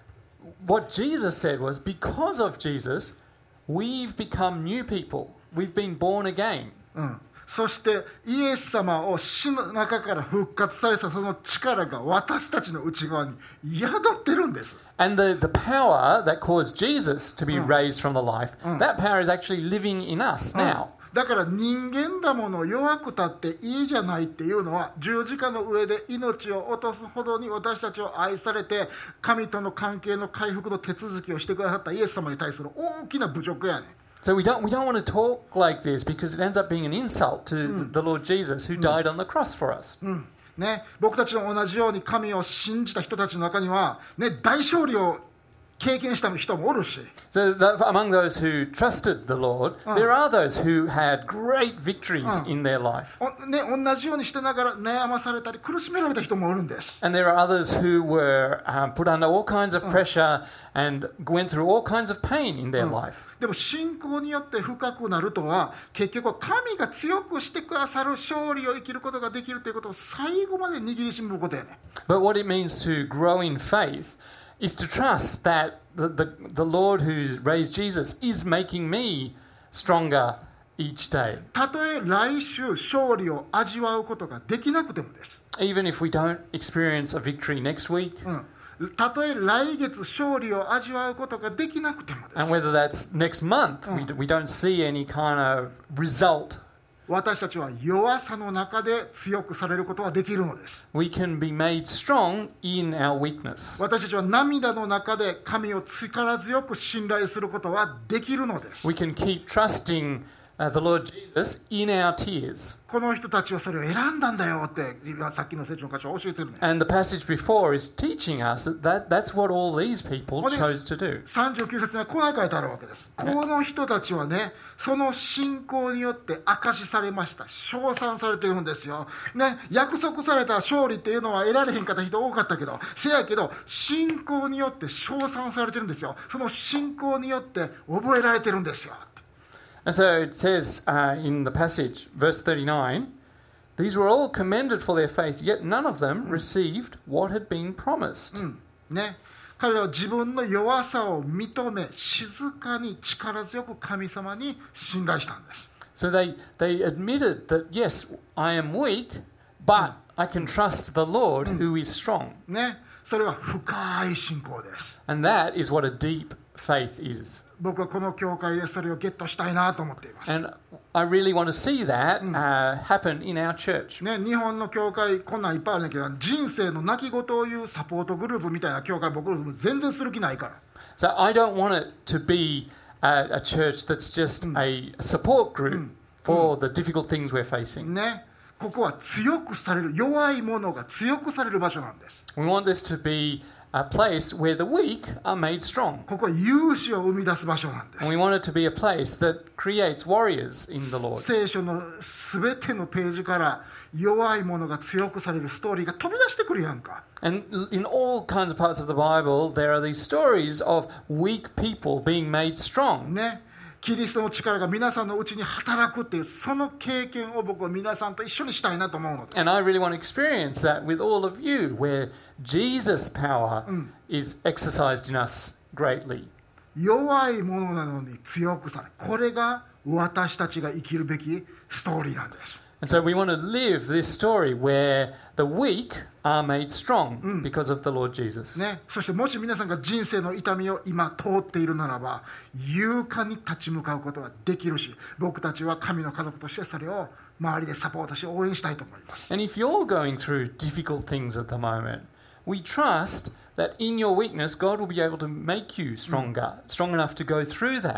what Jesus said was, because of Jesus, we've become new people. We've been born again. うん。そしてイエス様を死の中から復活されたその力が私たちの内側に宿ってるんです。 And the, the power that caused Jesus to be raised from the life, that power is actually living in us now. だから人間だもの弱くたっていいじゃないっていうのは十字架の上で命を落とすほどに私たちを愛されて神との関係の回復の手続きをしてくださったイエス様に対する大きな侮辱やねん。 So we don't we don't want to talk like this because it ends up being an insult to the Lord Jesus who died on the cross for us. うんね、僕たちと同じように神を信じた人たちの中には、ね、大勝利を経験した人もおるし。 So that among those who trusted the Lord, there are those who had great victories in their life. ね、同じようにしてながら悩まされたり苦しめられた人もおるんです。 And there are others who were um, put under all kinds of pressure and went through all kinds of pain in their life. でも信仰によって深くなるとは結局は神が強くしてくださる勝利を生きることができるということを最後まで握りしめることやね。 But what it means to grow in faith is to trust that the, the, the Lord who raised Jesus is making me stronger each day. たとえ来週勝利を味わうことができなくてもです。 Even if we don't experience a victory next week. うん、たとえ来月勝利を味わうことができなくてもです。 And whether that's next month, we, we don't see any kind of result. 私たちは弱さの中で強くされることはできるのです。 We can be made strong in our weakness. 私たちは涙の中で神を力強く信頼することはできるのです。 We can keep trusting uh, the Lord Jesus in our tears. この人たちはそれを選んだんだよってさっきの聖書の箇所は教えてるね。 And the passage before is teaching us that, that that's what all these people chose to do. さんじゅうきゅう節にはこう書いてあるわけです。この人たちはね、その信仰によって証しされました。称賛されてるんですよ。ね、約束された勝利っていうのは得られへんかった人多かったけど、せやけど信仰によって称賛されてるんですよ。その信仰によって覚えられてるんですよ。 And so it says uh, in the passage, verse thirty-nine, these were all commended for their faith, yet none of them received what had been promised. うん、ね。彼らは自分の弱さを認め、静かに力強く神様に信頼したんです。 So they, they admitted that, yes, I am weak, but I can trust the Lord who is strong. ね。それは深い信仰です。 And that is what a deep faith is. 僕はこの教会でそれをゲットしたいなと思っています。 And I really want to see that uh, happen in our church. ね、日本の教会こんなんいっぱいあるんだけど、人生の泣き言を言うサポートグループみたいな教会僕全然する気ないから。 So I don't want it to be a, a church that's just a support group for the difficult things we're facing. ね、ここは強くされる、弱い者が強くされる場所なんです。 We want this to be a place where the weak are made strong. ここは勇士を生み出す場所なんです。 And we want it to be a place that creates warriors in the Lord. 聖書のすべてのページから弱い者が強くされるストーリーが飛び出してくるやんか。 And in all kinds of parts of the Bible, there are these stories of weak people being made strong. ね。キリストの力が皆さんのうちに働くっていうその経験を僕は皆さんと一緒にしたいなと思うのです。 And I really want to experience that with all of you, where Jesus' power is exercised in us greatly. 弱いものなのに強くされる。これが私たちが生きるべきストーリーなんです。 And so we want to live this story where the weak are made strong because of the Lord Jesus. ね、そしてもし皆さんが人生の痛みを今通っているならば勇敢に立ち向かうことができるし、僕たちは神の家族としてそれを周りでサポートし応援したいと思います。 And if you're going through difficult things at the moment, we trust that in your weakness God will be able to make you stronger, strong enough to go through that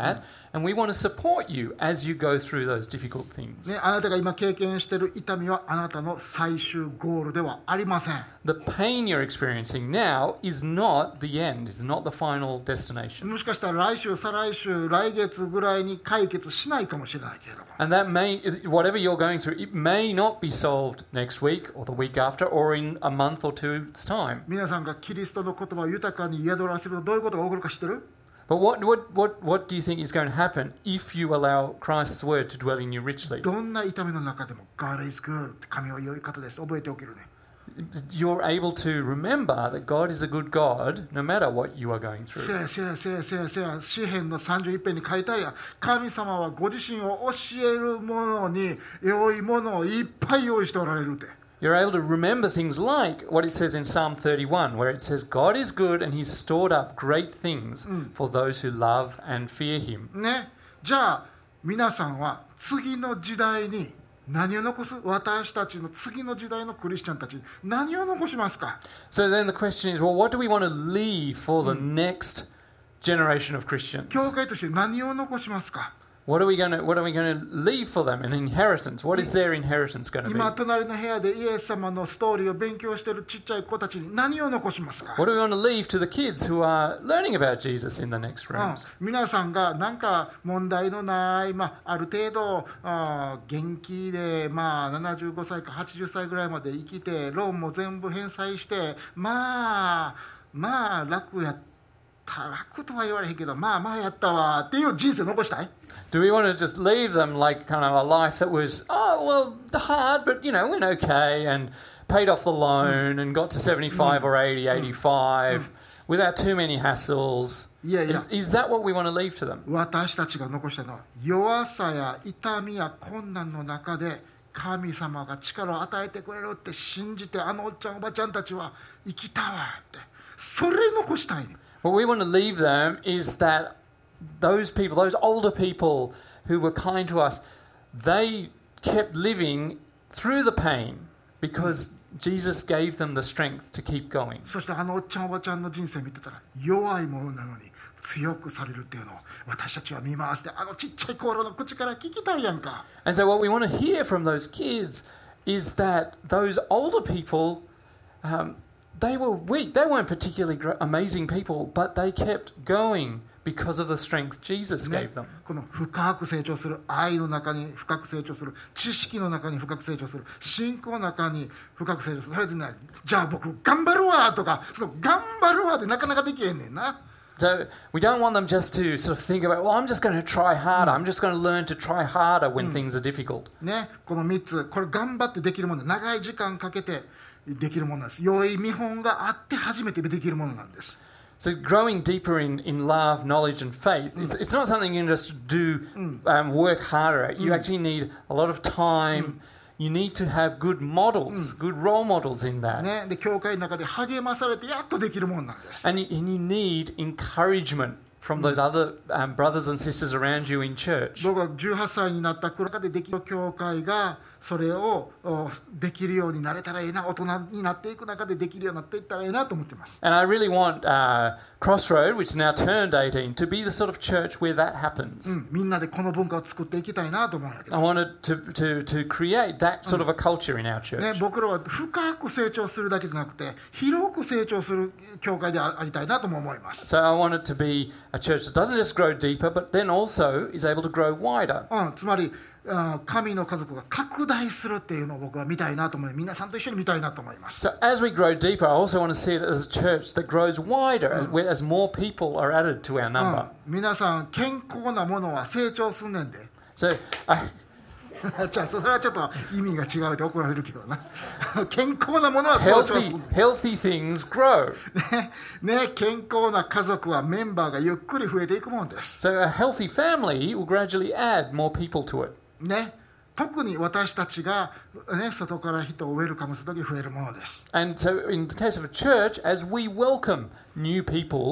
And we want to support you as you go through those difficult things. ね、あなたが今経験している痛みはあなたの最終ゴールではありません。 The pain you're experiencing now is not the end, is not the final destination. もしかしたら来週、再来週、来月ぐらいに解決しないかもしれないけれども。 And that may, whatever you're going through, it may not be solved next week or the week after or in a month or two's time. 皆さんがキリストの言葉を豊かに宿らせるとどういうことが起こるか知ってる？ But what, what, what, what do you think is going to happen if you allow Christ's word to dwell in you richly? どんな痛みの中でも God is good って神は良い方です覚えておけるね。 You're able to remember that God is a good God no matter what you are going せ through. やせやせやせやせや詩篇のさんじゅういっぺんに書いてあるやん。神様はご自身を教える者に良いものをいっぱい用意しておられるって。 You're able to remember things like what it says in Psalm thirty-one, where it says, God is good and he's stored up great things for those who love and fear him. ね、じゃあ皆さんは次の時代に何を残す？私たちの次の時代のクリスチャンたちに何を残しますか？ So then the question is, well, what do we want to leave for the next generation of Christians? 教会として何を残しますか？ What are we going to, what are we going to leave for them? An inheritance. What is their inheritance going to be? 今隣の部屋でイエス様のストーリーを勉強しているちっちゃい子たちに何を残しますか？ What do we want to leave to the kids who are learning about Jesus in the next うん rooms? 皆さんが何か問題のない、まあ、ある程度あ元気で、まあ、ななじゅうごさいかはちじゅっさいぐらいまで生きてローンも全部返済してまあまあ楽やった楽とは言われへんけどまあまあやったわっていう人生残したい？ Do we want to just leave them like kind of a life that was, oh, well, hard, but, you know, went okay and paid off the loan and got to seventy-five or eighty, eighty-five without too many hassles? いやいや Is, is that what we want to leave to them? 私たちが残したのは弱さや痛みや困難の中で神様が力を与えてくれるって信じてあのおっちゃんおばちゃんたちは生きたわってそれ残したいね。 What we want to leave them is that those people, those older people who were kind to us, they kept living through the pain because Jesus gave them the strength to keep going. そしてあのおっちゃんおばちゃんの人生見てたら弱いものなのに強くされるっていうのを私たちは見回してあのちっちゃい頃の口から聞きたいやんか。 And so what we want to hear from those kids is that those older people, um, they were weak. They weren't particularly gr- amazing people, but they kept going because of the strength Jesus ね gave them. この深く成長する愛の中に深く成長する知識の中に深く成長する信仰の中に深く成長するそれでねじゃあ僕頑張るわとかその頑張るわでなかなかできへんねんな。 So we don't want them just to sort of think about, well, I'm just going to try harder. I'm just going to learn to try harder when things are difficult. ね、このみっつこれ頑張ってできるもの長い時間かけてできるものなんです。良い見本があって初めてできるものなんです。 So growing deeper in, in love, knowledge and faith, it's, it's not something you can just do, um, work harder at. You actually need a lot of time. You need to have good models, good role models in that. ね、で教会の中で励まされてやっとできるものなんです。 And you, and you need encouragement from those other um, brothers and sisters around you in church. 僕がじゅうはっさいになった頃でできる教会がそれをおできるようになれたらいいな大人になっていく中でできるようになっていったらいいなと思ってます。 And I really want uh, Crossroad, which is now turned eighteen, to be the sort of church where that happens. うん、みんなでこの文化を作っていきたいなと思うんやけ I ど、 wanted to, to, to create that sort of a culture in our church. ね、僕らは深く成長するだけじゃなくて広く成長する教会でありたいなとも思います。 So I want it to be a church that doesn't just grow deeper, but then also is able to grow wider. うん、つまりあ神の家族が拡大するっていうのを僕は見たいなと思い皆さんと一緒に見たいなと思います。 So as we grow deeper, I also want to see it as a church that grows wider, as, where- as more people are added to our うん number. 皆さん健康なものは成長すんねんで。 So I, じゃあそれはちょっと意味が違うで怒られるけどな。健康なものは成長する healthy, healthy things grow. ね。ね、健康な家族はメンバーがゆっくり増えていくもんです。 So a healthy family will gradually add more people to it. ね。特に私たちが、ね、外から人をウェルカムするとき増えるものです。 And so in the case of a church, as we welcome new people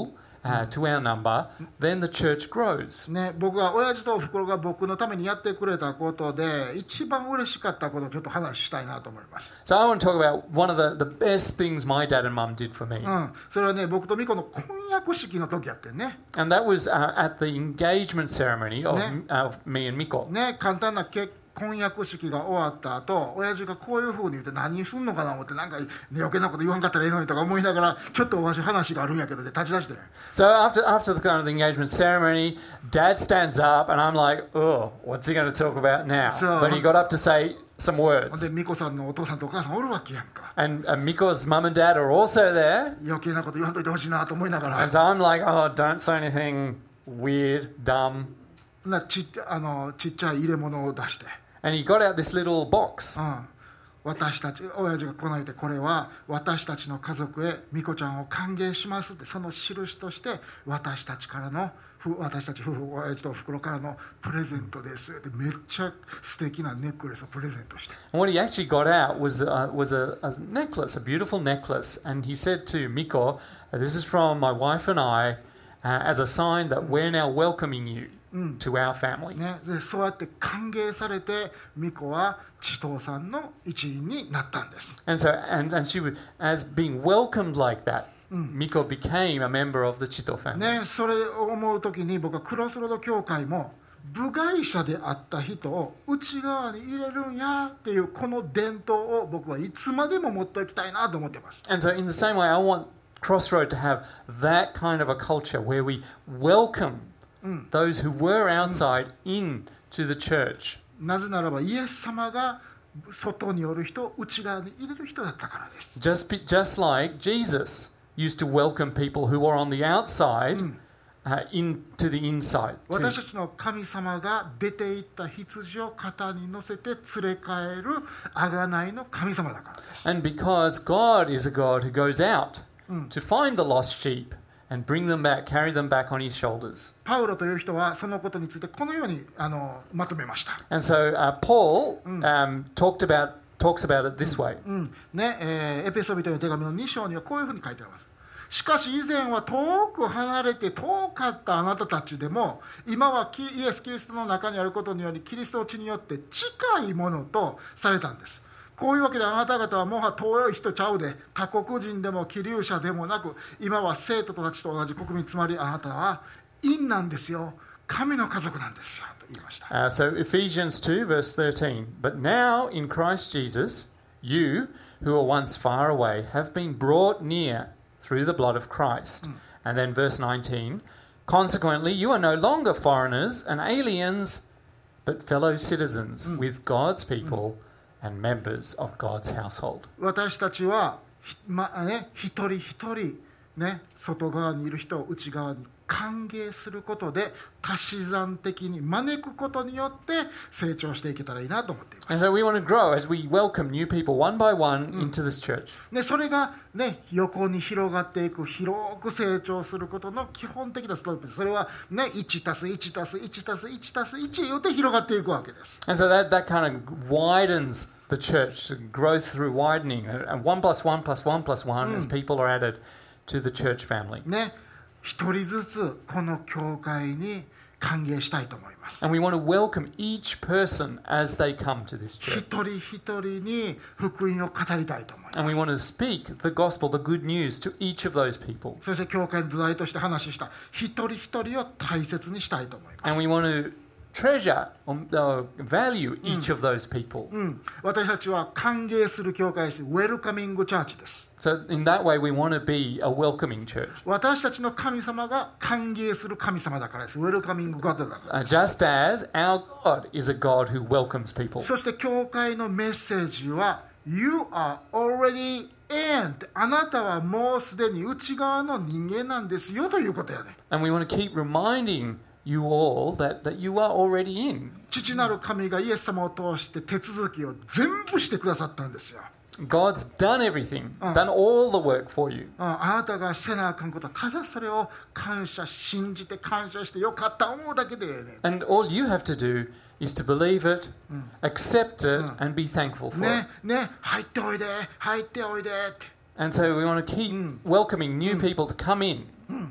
uh, to our number, then the church grows. ね、僕が親父とおふくろが僕のためにやってくれたことで一番嬉しかったことをちょっと話したいなと思います。 So I want to talk about one of the, the best things my dad and mum did for me. うん、それはね、僕とミコの婚約式の時やってんね。 And that was uh, at the engagement ceremony of, ね。 of me and Miko. ね、簡単な結婚約式が終わった後、親父がこういう風に言って何すんのかな思ってなんか、ね、余計なこと言わんかったらええのにとか思いながらちょっとおわし話があるんやけどで立ち出して。 So after after the kind of the engagement ceremony, Dad stands up and I'm like, oh, what's he going to talk about now? So- But he got up to say some ほん words. でミコさんのお父さんとお母さんおるわけやんか。 And uh, Miko's mum and dad are also there. 余計なこと言わんといてほしいなと思いなが And ら so I'm like, oh, don't say anything weird, dumb. なちっあのちっちゃい入れ物を出して。 And he got out this little box. うん、私たち親父がこないでこれは私たちの家族へミコちゃんを歓迎しますってその印として私たちからの私たち夫婦親父とおふくろからのプレゼントですってめっちゃ素敵なネックレスをプレゼントして。 And what he actually got out was uh, was a, a necklace, a beautiful necklace. And he said to Miko, "This is from my wife and I, uh, as a sign that we're now welcoming you to our family." ね、でそうやって歓迎されてミコは千藤さんの一員になったんです。 And so, and, and she would, as being welcomed like that, Miko became a member of the Chito family. ね、それを思うときに僕はクロスロード教会も部外者であった人を内側に入れるんやっていうこの伝統を僕はいつまでも持っておきたいなと思ってます。 And so, in the same way, I want Crossroad to have that kind of a culture where we welcome those who were outside into the church. なぜならばイエス様が外におる人を内側に入れる人だったからです。 Just, be, just like Jesus used to welcome people who were on the outside uh, into the inside. 私たちの神様が出て行った羊を肩に乗せて連れ帰る贖いの神様だからです。 And because God is a God who goes out to find the lost sheep and bring them back, carry them back on his shoulders. パウロという人はそのことについてこのようにあのまとめました。 And so uh, Paul um, talked about, talks about it this way. うんねえーエペソビトの手紙のに章にはこういうふうに書いてあります。しかし以前は遠く離れて遠かったあなたたちでも今はイエス・キリストの中にあることによりキリストの血によって近いものとされたんです。こういうわけであなた方はもは遠い人ちゃうで他国人でも寄留者でもなく今は生徒たちと同じ国民つまりあなたは院なんですよ神の家族なんですよと言いました。 Uh, so Ephesians two verse thirteen. But now in Christ Jesus, you who were once far away have been brought near through the blood of Christ. And then verse nineteen. Consequently, you are no longer foreigners and aliens, but fellow citizens with God's people and members of God's household. 私たちは、まね、一人一人、ね、外側にいる人を内側に歓迎することで足し算的に招くことによって成長していけたらいいなと思っています。 And so we want to grow as we welcome new people one by one into this church. でそれが、ね、横に広がっていく広く成長することの基本的なストーリーです。それは、ね、いちたすいちたすいちたすいちたすいち言うて広がっていくわけです。 And so that, that kind of widens the church, growth through widening, and one plus one plus one plus one as people are added to the church family. ね、一人ずつこの教会に歓迎したいと思います。 And we want to welcome each person as they come to this 一 church. 人一人に福音を語りたいと思います。 And we want to speak the gospel, the good news to each of those people. そして教会の土台として話した一人一人を大切にしたいと思います。 And we want to treasure or uh, value each of those people. うん、私たちは歓迎する教会です。ウェルカミングチャーチです。 So in that way, we want to be a welcoming church. 私たちの神様が歓迎する神様だからです。ウェルカミングガッドだから Uh, です。 just as our God is a God who welcomes people. そして教会のメッセージは You are already in あなたはもうすでに内側の人間なんですよということやね。 And we want to keep reminding you all that, that you are already in. 父なる神がイエス様を通して手続きを全部してくださったんですよ。 God's done everything, done all the work for you. ああなたがせなあかんことはただそれを感謝信じて感謝してよかった思うだけでええね。 And all you have to do is to believe it, accept it, and be thankful for ね it. ね入っておいで入っておいでって。 And so we want to keep welcoming new people to come in.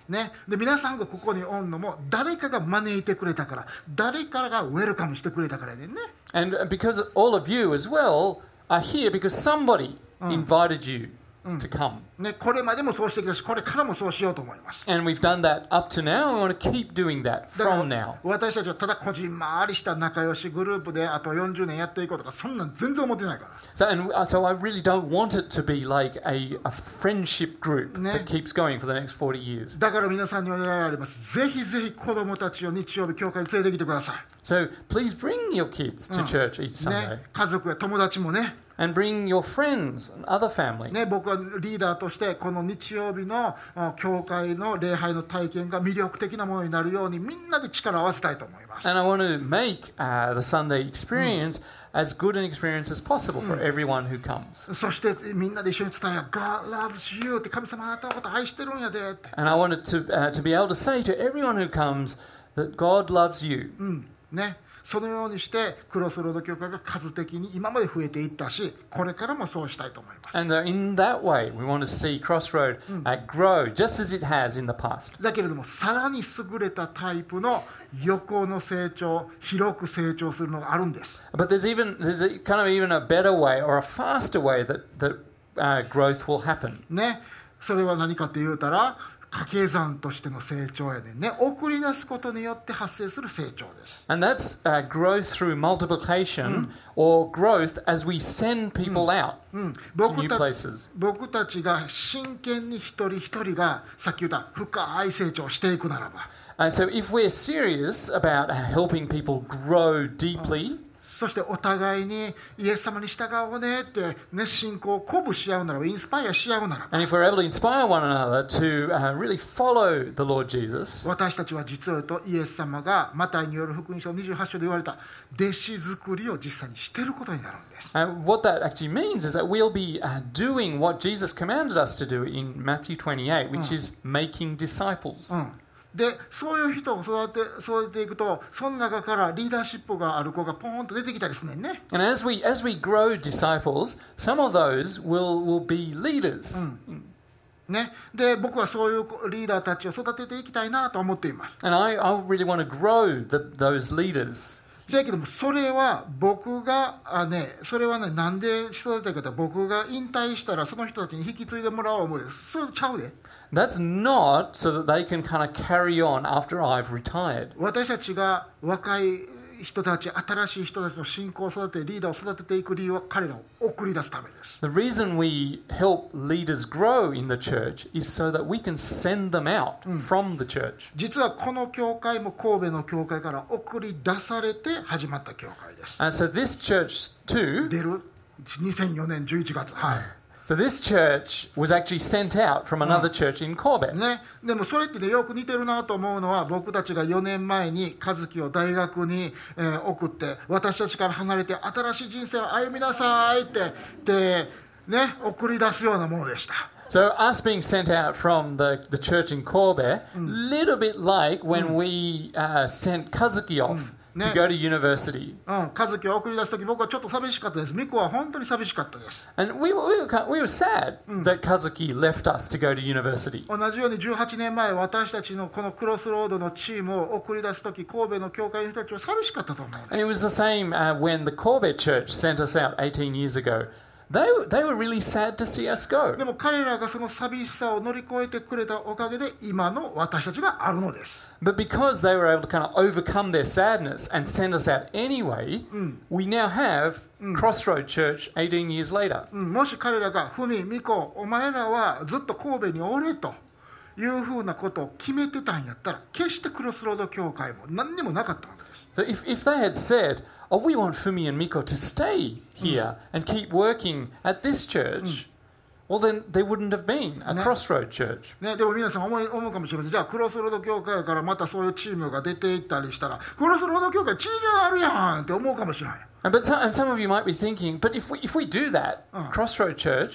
ね、で皆さんがここにおんのも誰かが招いてくれたから、誰かがウェルカムしてくれたからでね。 And because all of you as well are here because somebody invited you to come. ね、これまでもそうしてきたし、これからもそうしようと思います。 And we've done that up to now, and we want to keep doing that だから from now. 私たちはただこじんまりした仲良しグループであとよんじゅうねんやっていこうとか、そんなん全然思ってないから。 So, and uh, so I really don't want it to be like a, a friendship group Ne. that keeps going for the next forty years. だから皆さんにお願いがあります。ぜひぜひ子供たちを日曜日教会に連れてきてくださ So please bring your kids to church each い。 Sunday. ね、家族や友達もね。 And bring your friends and other family. ね、僕はリーダーとしてこの日曜日のあ教会の礼拝の体験が魅力的なものになるようにみんなで力を合わせたいと思います。 And I want to make uh, the Sunday experience as good an experience as possible for everyone who comes. そしてみんなで一緒に伝えよう。God loves you って神様あなたのこと愛してるんやでって。 And I wanted to, uh, to be able to say to everyone who comes that God loves you. うんね、そのようにしてクロスロード教会が数的に今まで増えていったし、これからもそうしたいと思います。 And uh, in that way, we want to see Crossroad uh, grow just as it has in the past. だけれどもさらに優れたタイプの横の成長、広く成長するのがあるんです。 But there's even there's a, kind of even a better way or a faster way that that uh, growth will happen. ね、それは何かって言うたら掛け算としての成長やねんね。送り出すことによって発生する成長です。 And that's uh, growth through multiplication or growth as we send people out うん、 to 僕 new た places. 僕たちが真剣に一人一人がさっき言った深い成長をしていくならば、 And so if we're serious about uh, helping people grow deeply, そしてお互いにイエス様に従おうねってね、信仰を鼓舞し合うならば、インスパイアし合うならば、 and if we're able to inspire one another to uh, really follow the Lord Jesus, 私たちは実を言うとイエス様がマタイによる福音書にじゅうはち章で言われた弟子作りを実際にしていることになるんです。 and what that actually means is that we'll be uh, doing what Jesus commanded us to do in Matthew twenty-eight, which is making disciples. うん、でそういう人を育て育てていくと、その中からリーダーシップがある子がポーンと出てきたりするねんね。 And as we as we grow disciples, some of those will will be leaders. ね、で僕はそういうリーダーたちを育てていきたいなと思っています。 And I, I really want to grow the, those leaders. だけどもそれは僕があ、ね、それはね、なんで育てたいかというと、僕が引退したらその人たちに引き継いでもらおう思うです。それちゃうで。 That's not so that they can kind of carry on after I've retired. 私たちが若い人たち、新しい人たちの信仰を育て、リーダーを育てていく理由は彼らを送り出すためです。 The reason we help leaders grow in the church is so that we can send them out from the church. 実はこの教会も神戸の教会から送り出されて始まった教会です。 And so this church too, 出るにせんよねんじゅういちがつ、はい。 so this church was actually sent out from another church in Corbett. ね、でもそれってね、よく似てるなと思うのは、僕たちがよねんまえに和樹を大学に、えー送って、私たちから離れて新しい人生を歩みなさいってで、ね、送り出すようなものでした。 So us being sent out from the, the church in Corbett, little bit like when we uh, sent Kazuki off to Ne. go to university. うん、和樹を送り出すとき、僕はちょっと寂しかったです。ミコは本当に寂しかったです。 And we, were- we, were, kind- we were sad that Kazuki left us to go to university. 同じようにじゅうはちねんまえ、私たちのこのクロスロードのチームを送り出すとき、神戸の教会の人たちは寂しかったと思うね。 And it was the same uh, when the Corbett church sent us out eighteen years ago. They, they were really sad to see us go. でも彼らがその寂しさを乗り越えてくれたおかげで、今の私たちがあるのです。 But because they were able to kind of overcome their sadness and send us out anyway, we now have Crossroad Church eighteen years later. うん、もし彼らが、ふみ、みこ、お前らはずっと神戸におれというふうなことを決めてたんやったら、決してクロスロード教会も何にもなかったわけです。 So if, if they had said, oh, we want Fumi and Miko to stay here and keep working at this church, well, then there wouldn't have been a Ne. Crossroad Church. ね、でも皆さん思い思うかもしれません。じゃあクロスロード教会からまたそういうチームが出ていったりしたら、クロスロード教会地位があるやんって思うかもしれない。 And, but some, and some of you might be thinking, but if we, if we do that, Crossroad Church,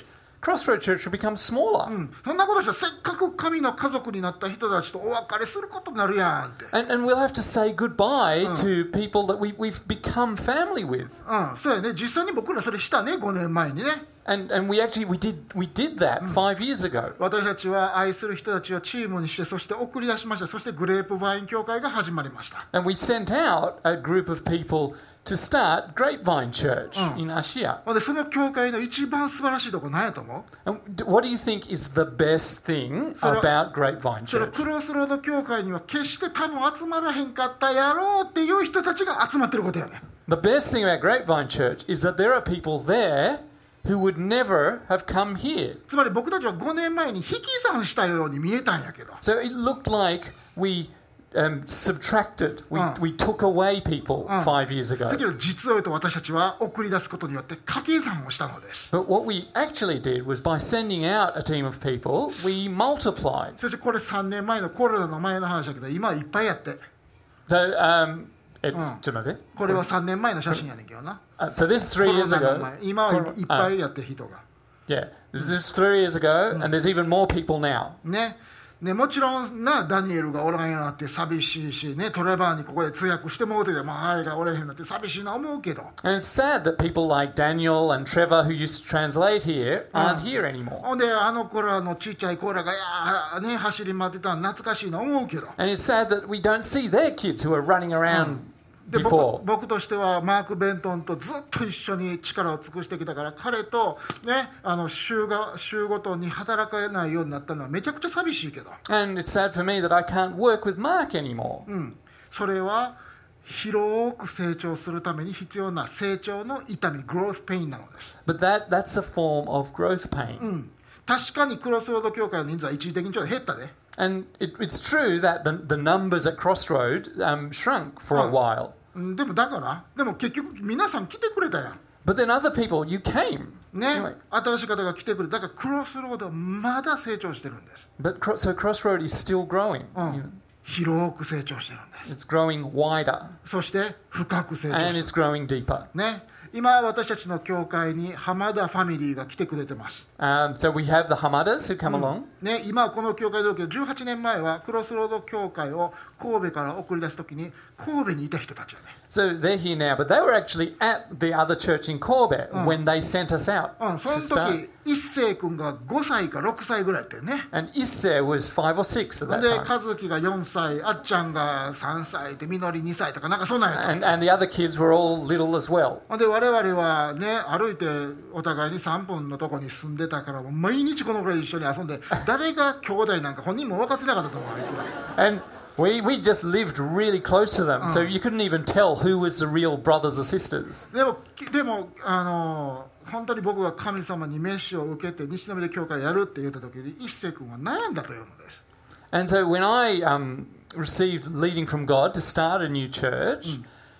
Crossroad Church will become smaller. うん、そんなことしたらせっかく神の家族になった人たちとお別れすることになるやんって。 And, and we'll have to say goodbye to people that we, we've become family with. うん、そうやね。実際に僕らそれしたね、ごねんまえにね。 And, and we actually we did, we did that five years ago. 私たちは愛する人たちをチームにして、そして送り出しました。そしてグレープワイン協会が始まりました。 And we sent out a group of people to start Grapevine Church in Asia. で、その教会の一番素晴らしいところ何やと思う？ And d- what do you think is the best thing それ about Grapevine それ Church? クロスロード教会には決して多分集まらへんかったやろうっていう人たちが集まってることやね。 The best thing about Grapevine Church is that there are people there who would never have come here. つまり僕たちはごねんまえに引き算したように見えたんやけど、 So it looked like we um, subtracted, we, Uh. we took away people Uh. five years ago. だけど実を言うと私たちは送り出すことによって掛け算をしたのです。 But what we actually did was by sending out a team of people, we multiplied. そしてこれさんねんまえのコロナの前の話だけど、今はいっぱいやって。 So, um, it, Uh. ちょっと待って。 これはさんねんまえの写真やねんけどな。 Uh, so this is コ three ロ years ナの ago. 前。今はいいっぱいやって人が。 Yeah, this is three years ago, and there's even more people now. ね。ね、もちろんな、ダニエルがおらんようになって寂しいし、ね、トレバーにここで通訳してもうてて、まあ、あれがおれへんなって寂しいな思うけど。 And it's sad that people like Daniel and Trevor, who used to translate here, aren't here anymore. ほんで、あの頃のちっちゃい子らが、いやーね、走り回ってたの懐かしいな思うけど。 And it's sad that we don't see their kids who are running around で before. 僕, 僕としてはマーク・ベントンとずっと一緒に力を尽くしてきたから、彼と、ね、あの 週, が週ごとに働かないようになったのはめちゃくちゃ寂しいけど、 And it's sad for me that I can't work with Mark anymore. うん、それは広く成長するために必要な成長の痛み、グロースペインなのです。 But that, that's a form of growth pain. うん、確かにクロスロード教会の人数は一時的にちょっと減ったで。 And it, it's true that the, the numbers at Crossroad um, shrunk for a Oh. while. うんでもだからでも結局皆さん来てくれたやん But then other people, you came. ね、 Anyway, 新しい方が来てくれた。だからクロスロードはまだ成長してるんです。 but cro- so Crossroad is still growing. うん、広く成長してるんです。 It's growing wider そして深く成長 and して it's growing deeper. る。ね、今私たちの教会に浜田ファミリーが来てくれてます。 Um, so we have the Hamadas who come along. ね、今はこの教会だけどじゅうはちねんまえはクロスロード教会を神戸から送り出すときに神戸にいた人たちよね。 So they're here now, but they were actually at the other church in Corbett when they sent us out うん、そ to の start. 時一星君がごさいかろくさいぐらいやったよね。 And Isser was five or six at で that time. 和樹がよんさい、あっちゃんがさんさいでみのりにさいとかなんかそんなんやった。 And, and the other kids were all little as well. で我々はね歩いてお互いにさんぷんのとこに住んでたからもう毎日このぐらい一緒に遊んで誰が兄弟なんか本人も分かってなかったと思うあいつら。 And we, we just lived really close to them, so you couldn't even tell who was the real brothers or sisters. でもでもあの本当に僕が神様に召しを受けて西宮で教会やるって言った時に一星君は悩んだというのです。 And so when I um, received leading from God to start a new church,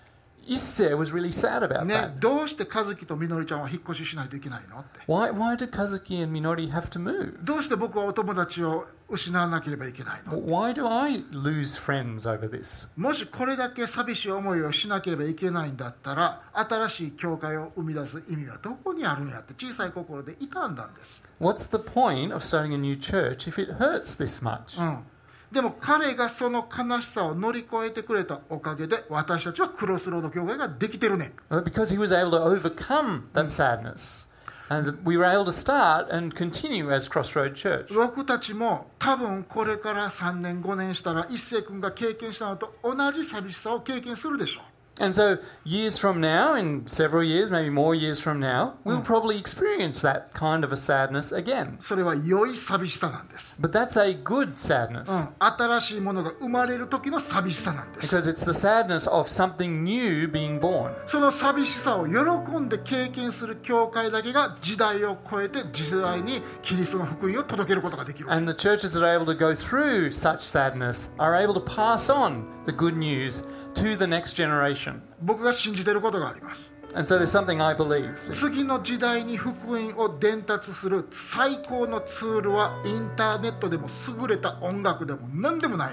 Isser was really sad about ね that. どうして和樹とみのりちゃんは引っ越ししないといけないのって。 Why, why did Kazuki and Minori have to move? どうして僕はお友達を失わなければいけないの。 Why do I lose friends over this? もしこれだけ寂しい思いをしなければいけないんだったら新しい教会を生み出す意味はどこにあるんやって小さい心で傷んだんです、 What's the point of starting a new church if it hurts this much? うん、でも彼がその悲しさを乗り越えてくれたおかげで私たちはクロスロード教会ができてるねん。 Well, because he was able to overcome that sadness. And we were able to start and continue as Crossroad Church. 僕たちも多分これからさんねんごねんしたら一星君が経験したのと同じ寂しさを経験するでしょう。 And so years from now, in several years, maybe more years from now, we'll probably experience that kind of a sadness again. それは良い寂しさなんです、 But that's a good sadness. うん、新しいものが生まれる時の寂しさなんです。 Because it's the sadness of something new being born. その寂しさを喜んで経験する教会だけが時代を超えて次世代にキリストの福音を届けることができる。 And the churches that are able to go through such sadness are able to pass on the good news to the next generation. 僕が信じていることがあります。 And so there's something I believe. 次の時代に福音を伝達する最高のツールはインターネットでも優れた音楽でも何でもない。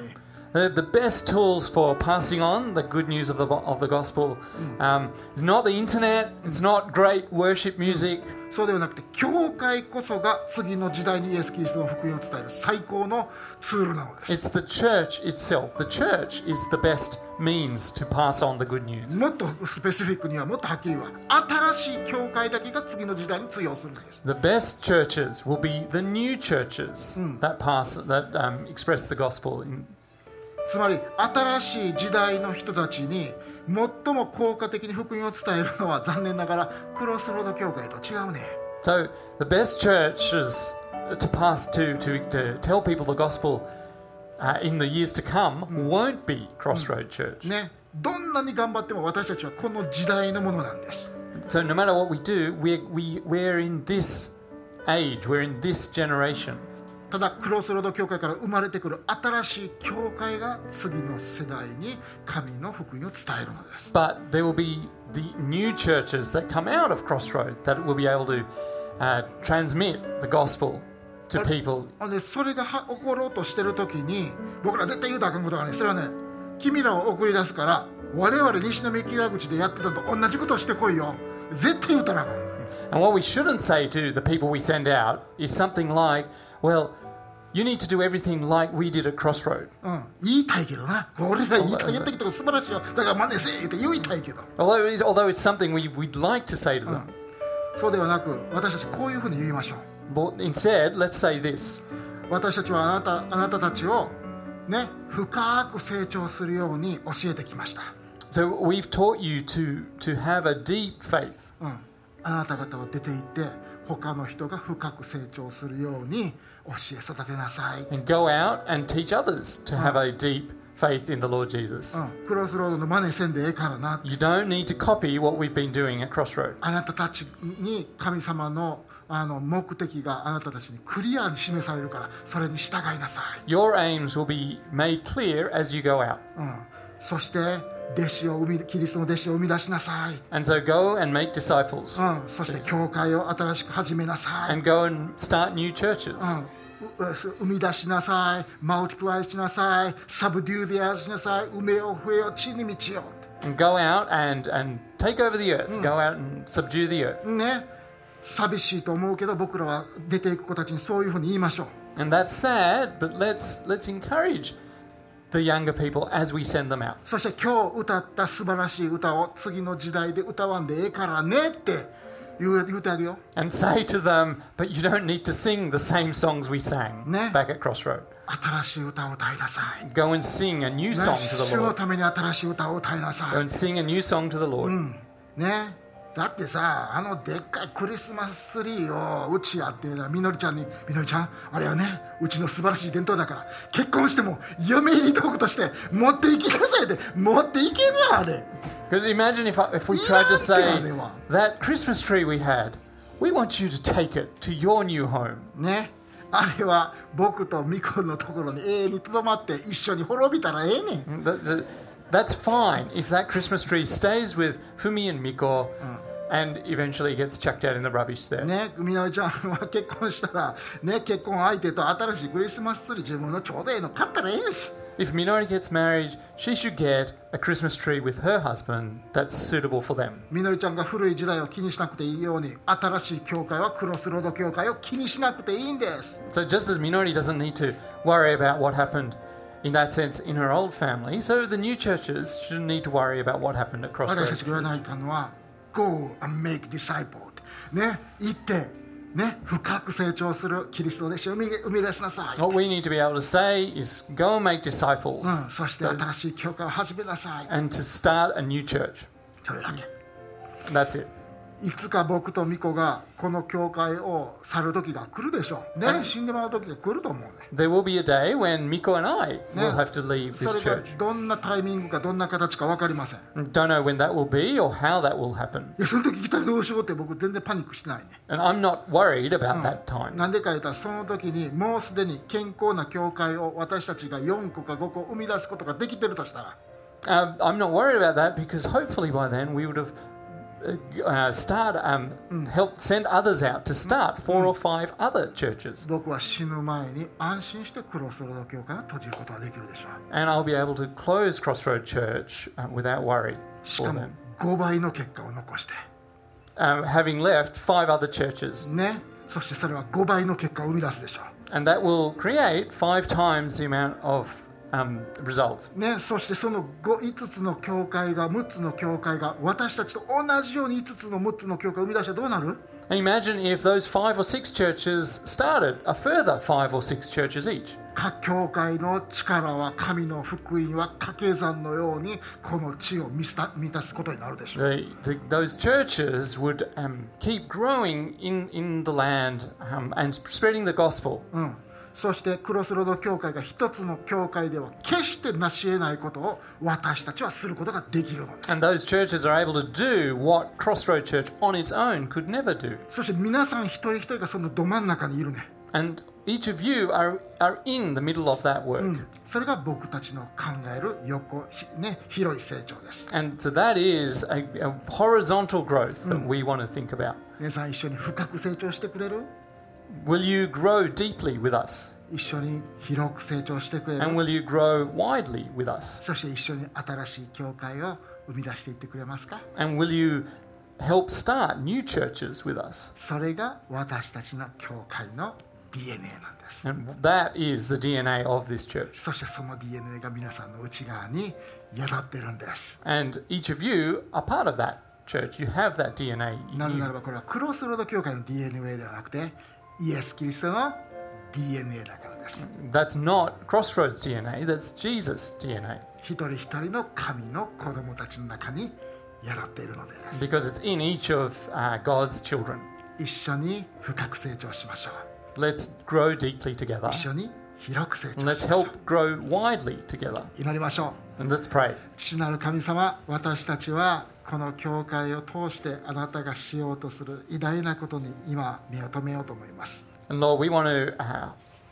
The, the best tools for passing on the good news of the, of the gospel um, is not the internet, it's not great worship music. そうではなくて、教会こそが次の時代にイエス・キリストの福音を伝える最高のツールなのです。 It's the church itself. The church is the best means to pass on the good news. もっとスペシフィックにはもっとはっきり言うわ、新しい教会だけが次の時代に通用するんです。 The best churches will be the new churches that pass, that um, express the gospel. In, つまり新しい時代の人たちに最も効果的に福音を伝えるのは残念ながらクロスロード教会と違うね。 so the best churches to pass to, to, to tell people the gospel uh, in the years to come won't be Crossroad Church. ね、どんなに頑張っても私たちはこの時代のものなんです。 So no matter what we do, we're, we, we're in this age, we're in this generation. ただクロスロード教会から生まれてくる新しい教会が次の世代に神の福音を伝えるのです。 But there will be the new churches that come out of Crossroad that will be able to uh, transmit the gospel to people. でそれがは起ころうとしてる時に僕ら絶対言うたらあかんことがね、それはね、君らを送り出すから我々西宮木屋口でやってたと同じことをしてこいよ、絶対言うたらあかん。 And what we shouldn't say to the people we send out is something like, well, you need to do everything like we did at Crossroad. うん、言いたいけどな、俺らいいかやってきたこと素晴らしいよ、だから真似せえって言いたいけど、 Although it's, although it's something we, we'd like to say to them. そうではなく私たちこういうふうに言いましょう。 But instead, let's say this. 私たちはあなた、あなたたちをね、深く成長するように教えてきました。 So we've taught you to, to have a deep faith. うん、あなた方を出て行って他の人が深く成長するように教え育てなさい。 And go out and teach others to have a deep faith in the Lord Jesus. うん、クロスロードの真似せんでええからな。 You don't need to copy what we've been doing at Crossroad. あなたたちに神様のあの目的があなたたちにクリアに示されるからそれに従いなさい。 Your aims will be made clear as you go out. うん、そして弟子を生みキリストの弟子を生み出しなさい。 And so go and make disciples. うん、そして教会を新しく始めなさい。 And go and start new churches. うん、生み出しなさい。マルティプライしなさい。サブデューディアしなさい。埋めよ増えよ地に満ちよ。 And go out and, and take over the earth. Go out and subdue the earth. ね、寂しいと思うけど僕らは出ていく子たちにそういうふうに言いましょう。 And that's sad, but let's let's encourage the younger people as we send them out. そして今日歌った素晴らしい歌を次の時代で歌わんでええからねって言う、言うてあげよう。 And say to them, but you don't need to sing the same songs we sang Ne. back at Crossroad. 新しい歌を歌いなさい。 Go and sing a new ね、 song to 主 the の Lord. ために新しい歌を歌いなさ Go い。 and sing a new song to the Lord. ね、だってさ、あのでっかいクリスマスツリーをうちやってな、みのりちゃんに、みのりちゃん、あれはね、うちの素晴らしい伝統だから、結婚しても嫁入り道具として持っていきなさいって持っていけるあれ。 Because imagine if, I, if we tried to say, that Christmas tree we had, we want you to take it to your new home. ね、あれは僕とミコのところに永遠にとどまって一緒に滅びたらええねん。 The, the, that's fine if that Christmas tree stays with Fumi and Miko and eventually gets chucked out in the rubbish there. ね、みのりちゃんは結婚したら、ね、結婚相手と新しいクリスマスツリー自分のちょうどええの買ったらええんです。 If Minori gets married, she should get a Christmas tree with her husband that's suitable for them. みのりちゃんが古い時代を気にしなくていいように、新しい教会はクロスロード教会を気にしなくていいんです。 So just as Minori doesn't need to worry about what happened in that sense in her old family, so the new churches shouldn't need to worry about what happened at 私た Crossroads. ちが言わないかんのは Go and make disciple ね、行ってね、深く成長するキリストの弟子を生み生み出しなさい。 What we need to be able to say is go and make disciples うん、そして新しい教会を始めなさい。 and to start a new church. それだけ。 That's it. いつか僕とミコがこの教会を去る時が来るでしょう。ね、死んでもらう時が来ると思うね。 There will be a day when Miko and I will have to leave そ this れが church. どんなタイミングかどんな形か分かりません。い Don't know when that will be or how that will happen. や、その時来たらどうしようって僕全然パニックしてないね。 And I'm not worried about that time. なんでか言ったらその時にもうすでに健康な教会を私たちがよんこかごこ生み出すことができてるとしたら、 Uh, I'm not worried about that because hopefully by then we would have uh, start, um, help send others out to start four or five other churches. 僕は死ぬ前に安心してクロスロード教会を閉じることができるでしょう。 And I'll be able to close Crossroad Church uh, without worry し for かも them. ごばいの結果を残して Um, having left five other churches. ね、そしてそれはごばいの結果を生み出すでしょ And that will create five times the amount of um, results. う。ね、そしてそのごいつつの教会がむっつの教会が私たちと同じようにいつつのむっつの教会を生み出したらどうなる？ And imagine if those five or six churches started a further five or six churches each. 各教会の力は神の福音は掛け算のようにこの地を満た満たすことになるでしょう。 The, the, those churches would um, keep growing in, in the land um, and spreading the gospel. うん、そしてクロスロード教会が一つの教会では決して成し得ないことを私たちはすることができるのです。 And those churches are able to do what Crossroad Church on its own could never do. そして皆さん一人一人がそのど真ん中にいるね。 And each of you are, are in the middle of that work. うん、それが僕たちの考える横、ひね、広い成長です。 And so that is a, a horizontal growth that we want to think about. 皆さん一緒に深く成長してくれる？ Will you grow deeply with us? 一緒に広く成長してくれ And る？ will you grow widely with us? そして一緒に新しい教会を生み出していってくれますか？ And will you help start new churches with us? それが私たちの教会の ディーエヌエー なんです。 And that is the D N A of this church. そしてその ディーエヌエー が皆さんの内側に宿ってるんです。 And each of you are part of that church. You have that D N A な in ぜな you. らばこれはクロスロード教会の ディーエヌエー ではなくてイエス・キリストの ディーエヌエー だからです。 That's not Crossroads D N A, that's Jesus' D N A. 一人一人の神の子供たちの中に宿っているのです。 Because it's in each of uh, God's children. 一緒に深く成長しましょう。 Let's grow deeply together. 一緒に広く成 And 長 let's しましょう。 help grow widely together. 祈りましょう。 And let's pray. 父なる神様、私たちはこの教会を通してあなたがしようとする偉大なことに今目を留めようと思います。 And Lord, we want to uh,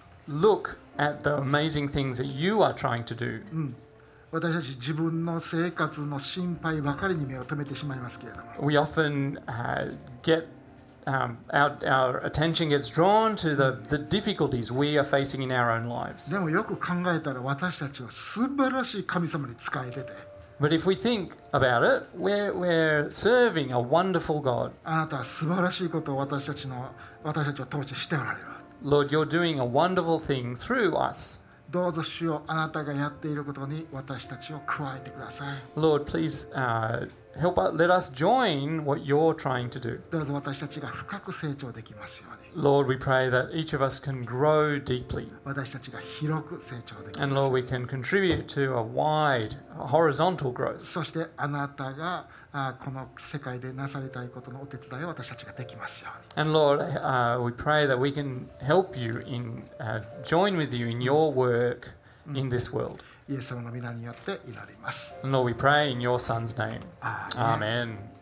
look at the amazing things that you are trying to do. 私たち自分の生活の心配ばかりに目を留めてしまいますけれども、 We often uh, get um, our, our attention gets drawn to the, the difficulties we are facing in our own lives. でもよく考えたら私たちは素晴らしい神様に仕えてて、 But if we think about it, we're, we're serving a wonderful God. あなたは素晴らしいことを私たちの私たちを通してしておられる。 Lord, you're doing a wonderful thing through us. どうぞ主よ、あなたがやっていることに私たちを加えてください。 Lord, please uh, help us, let us join what you're trying to do. どうぞ私たちが深く成長できますように、 Lord, we pray that each of us can grow deeply. 私たちが広く成長でき And ます Lord, we can contribute to a wide, horizontal growth. そしてあなたがあこの世界でなされたいことのお手伝いを私たちができますように。 And Lord, uh, we pray that we can help you in, uh, join with you in your work in this world. イエス様の皆によって祈ります。 And Lord, we pray in your Son's name. Amen. Amen.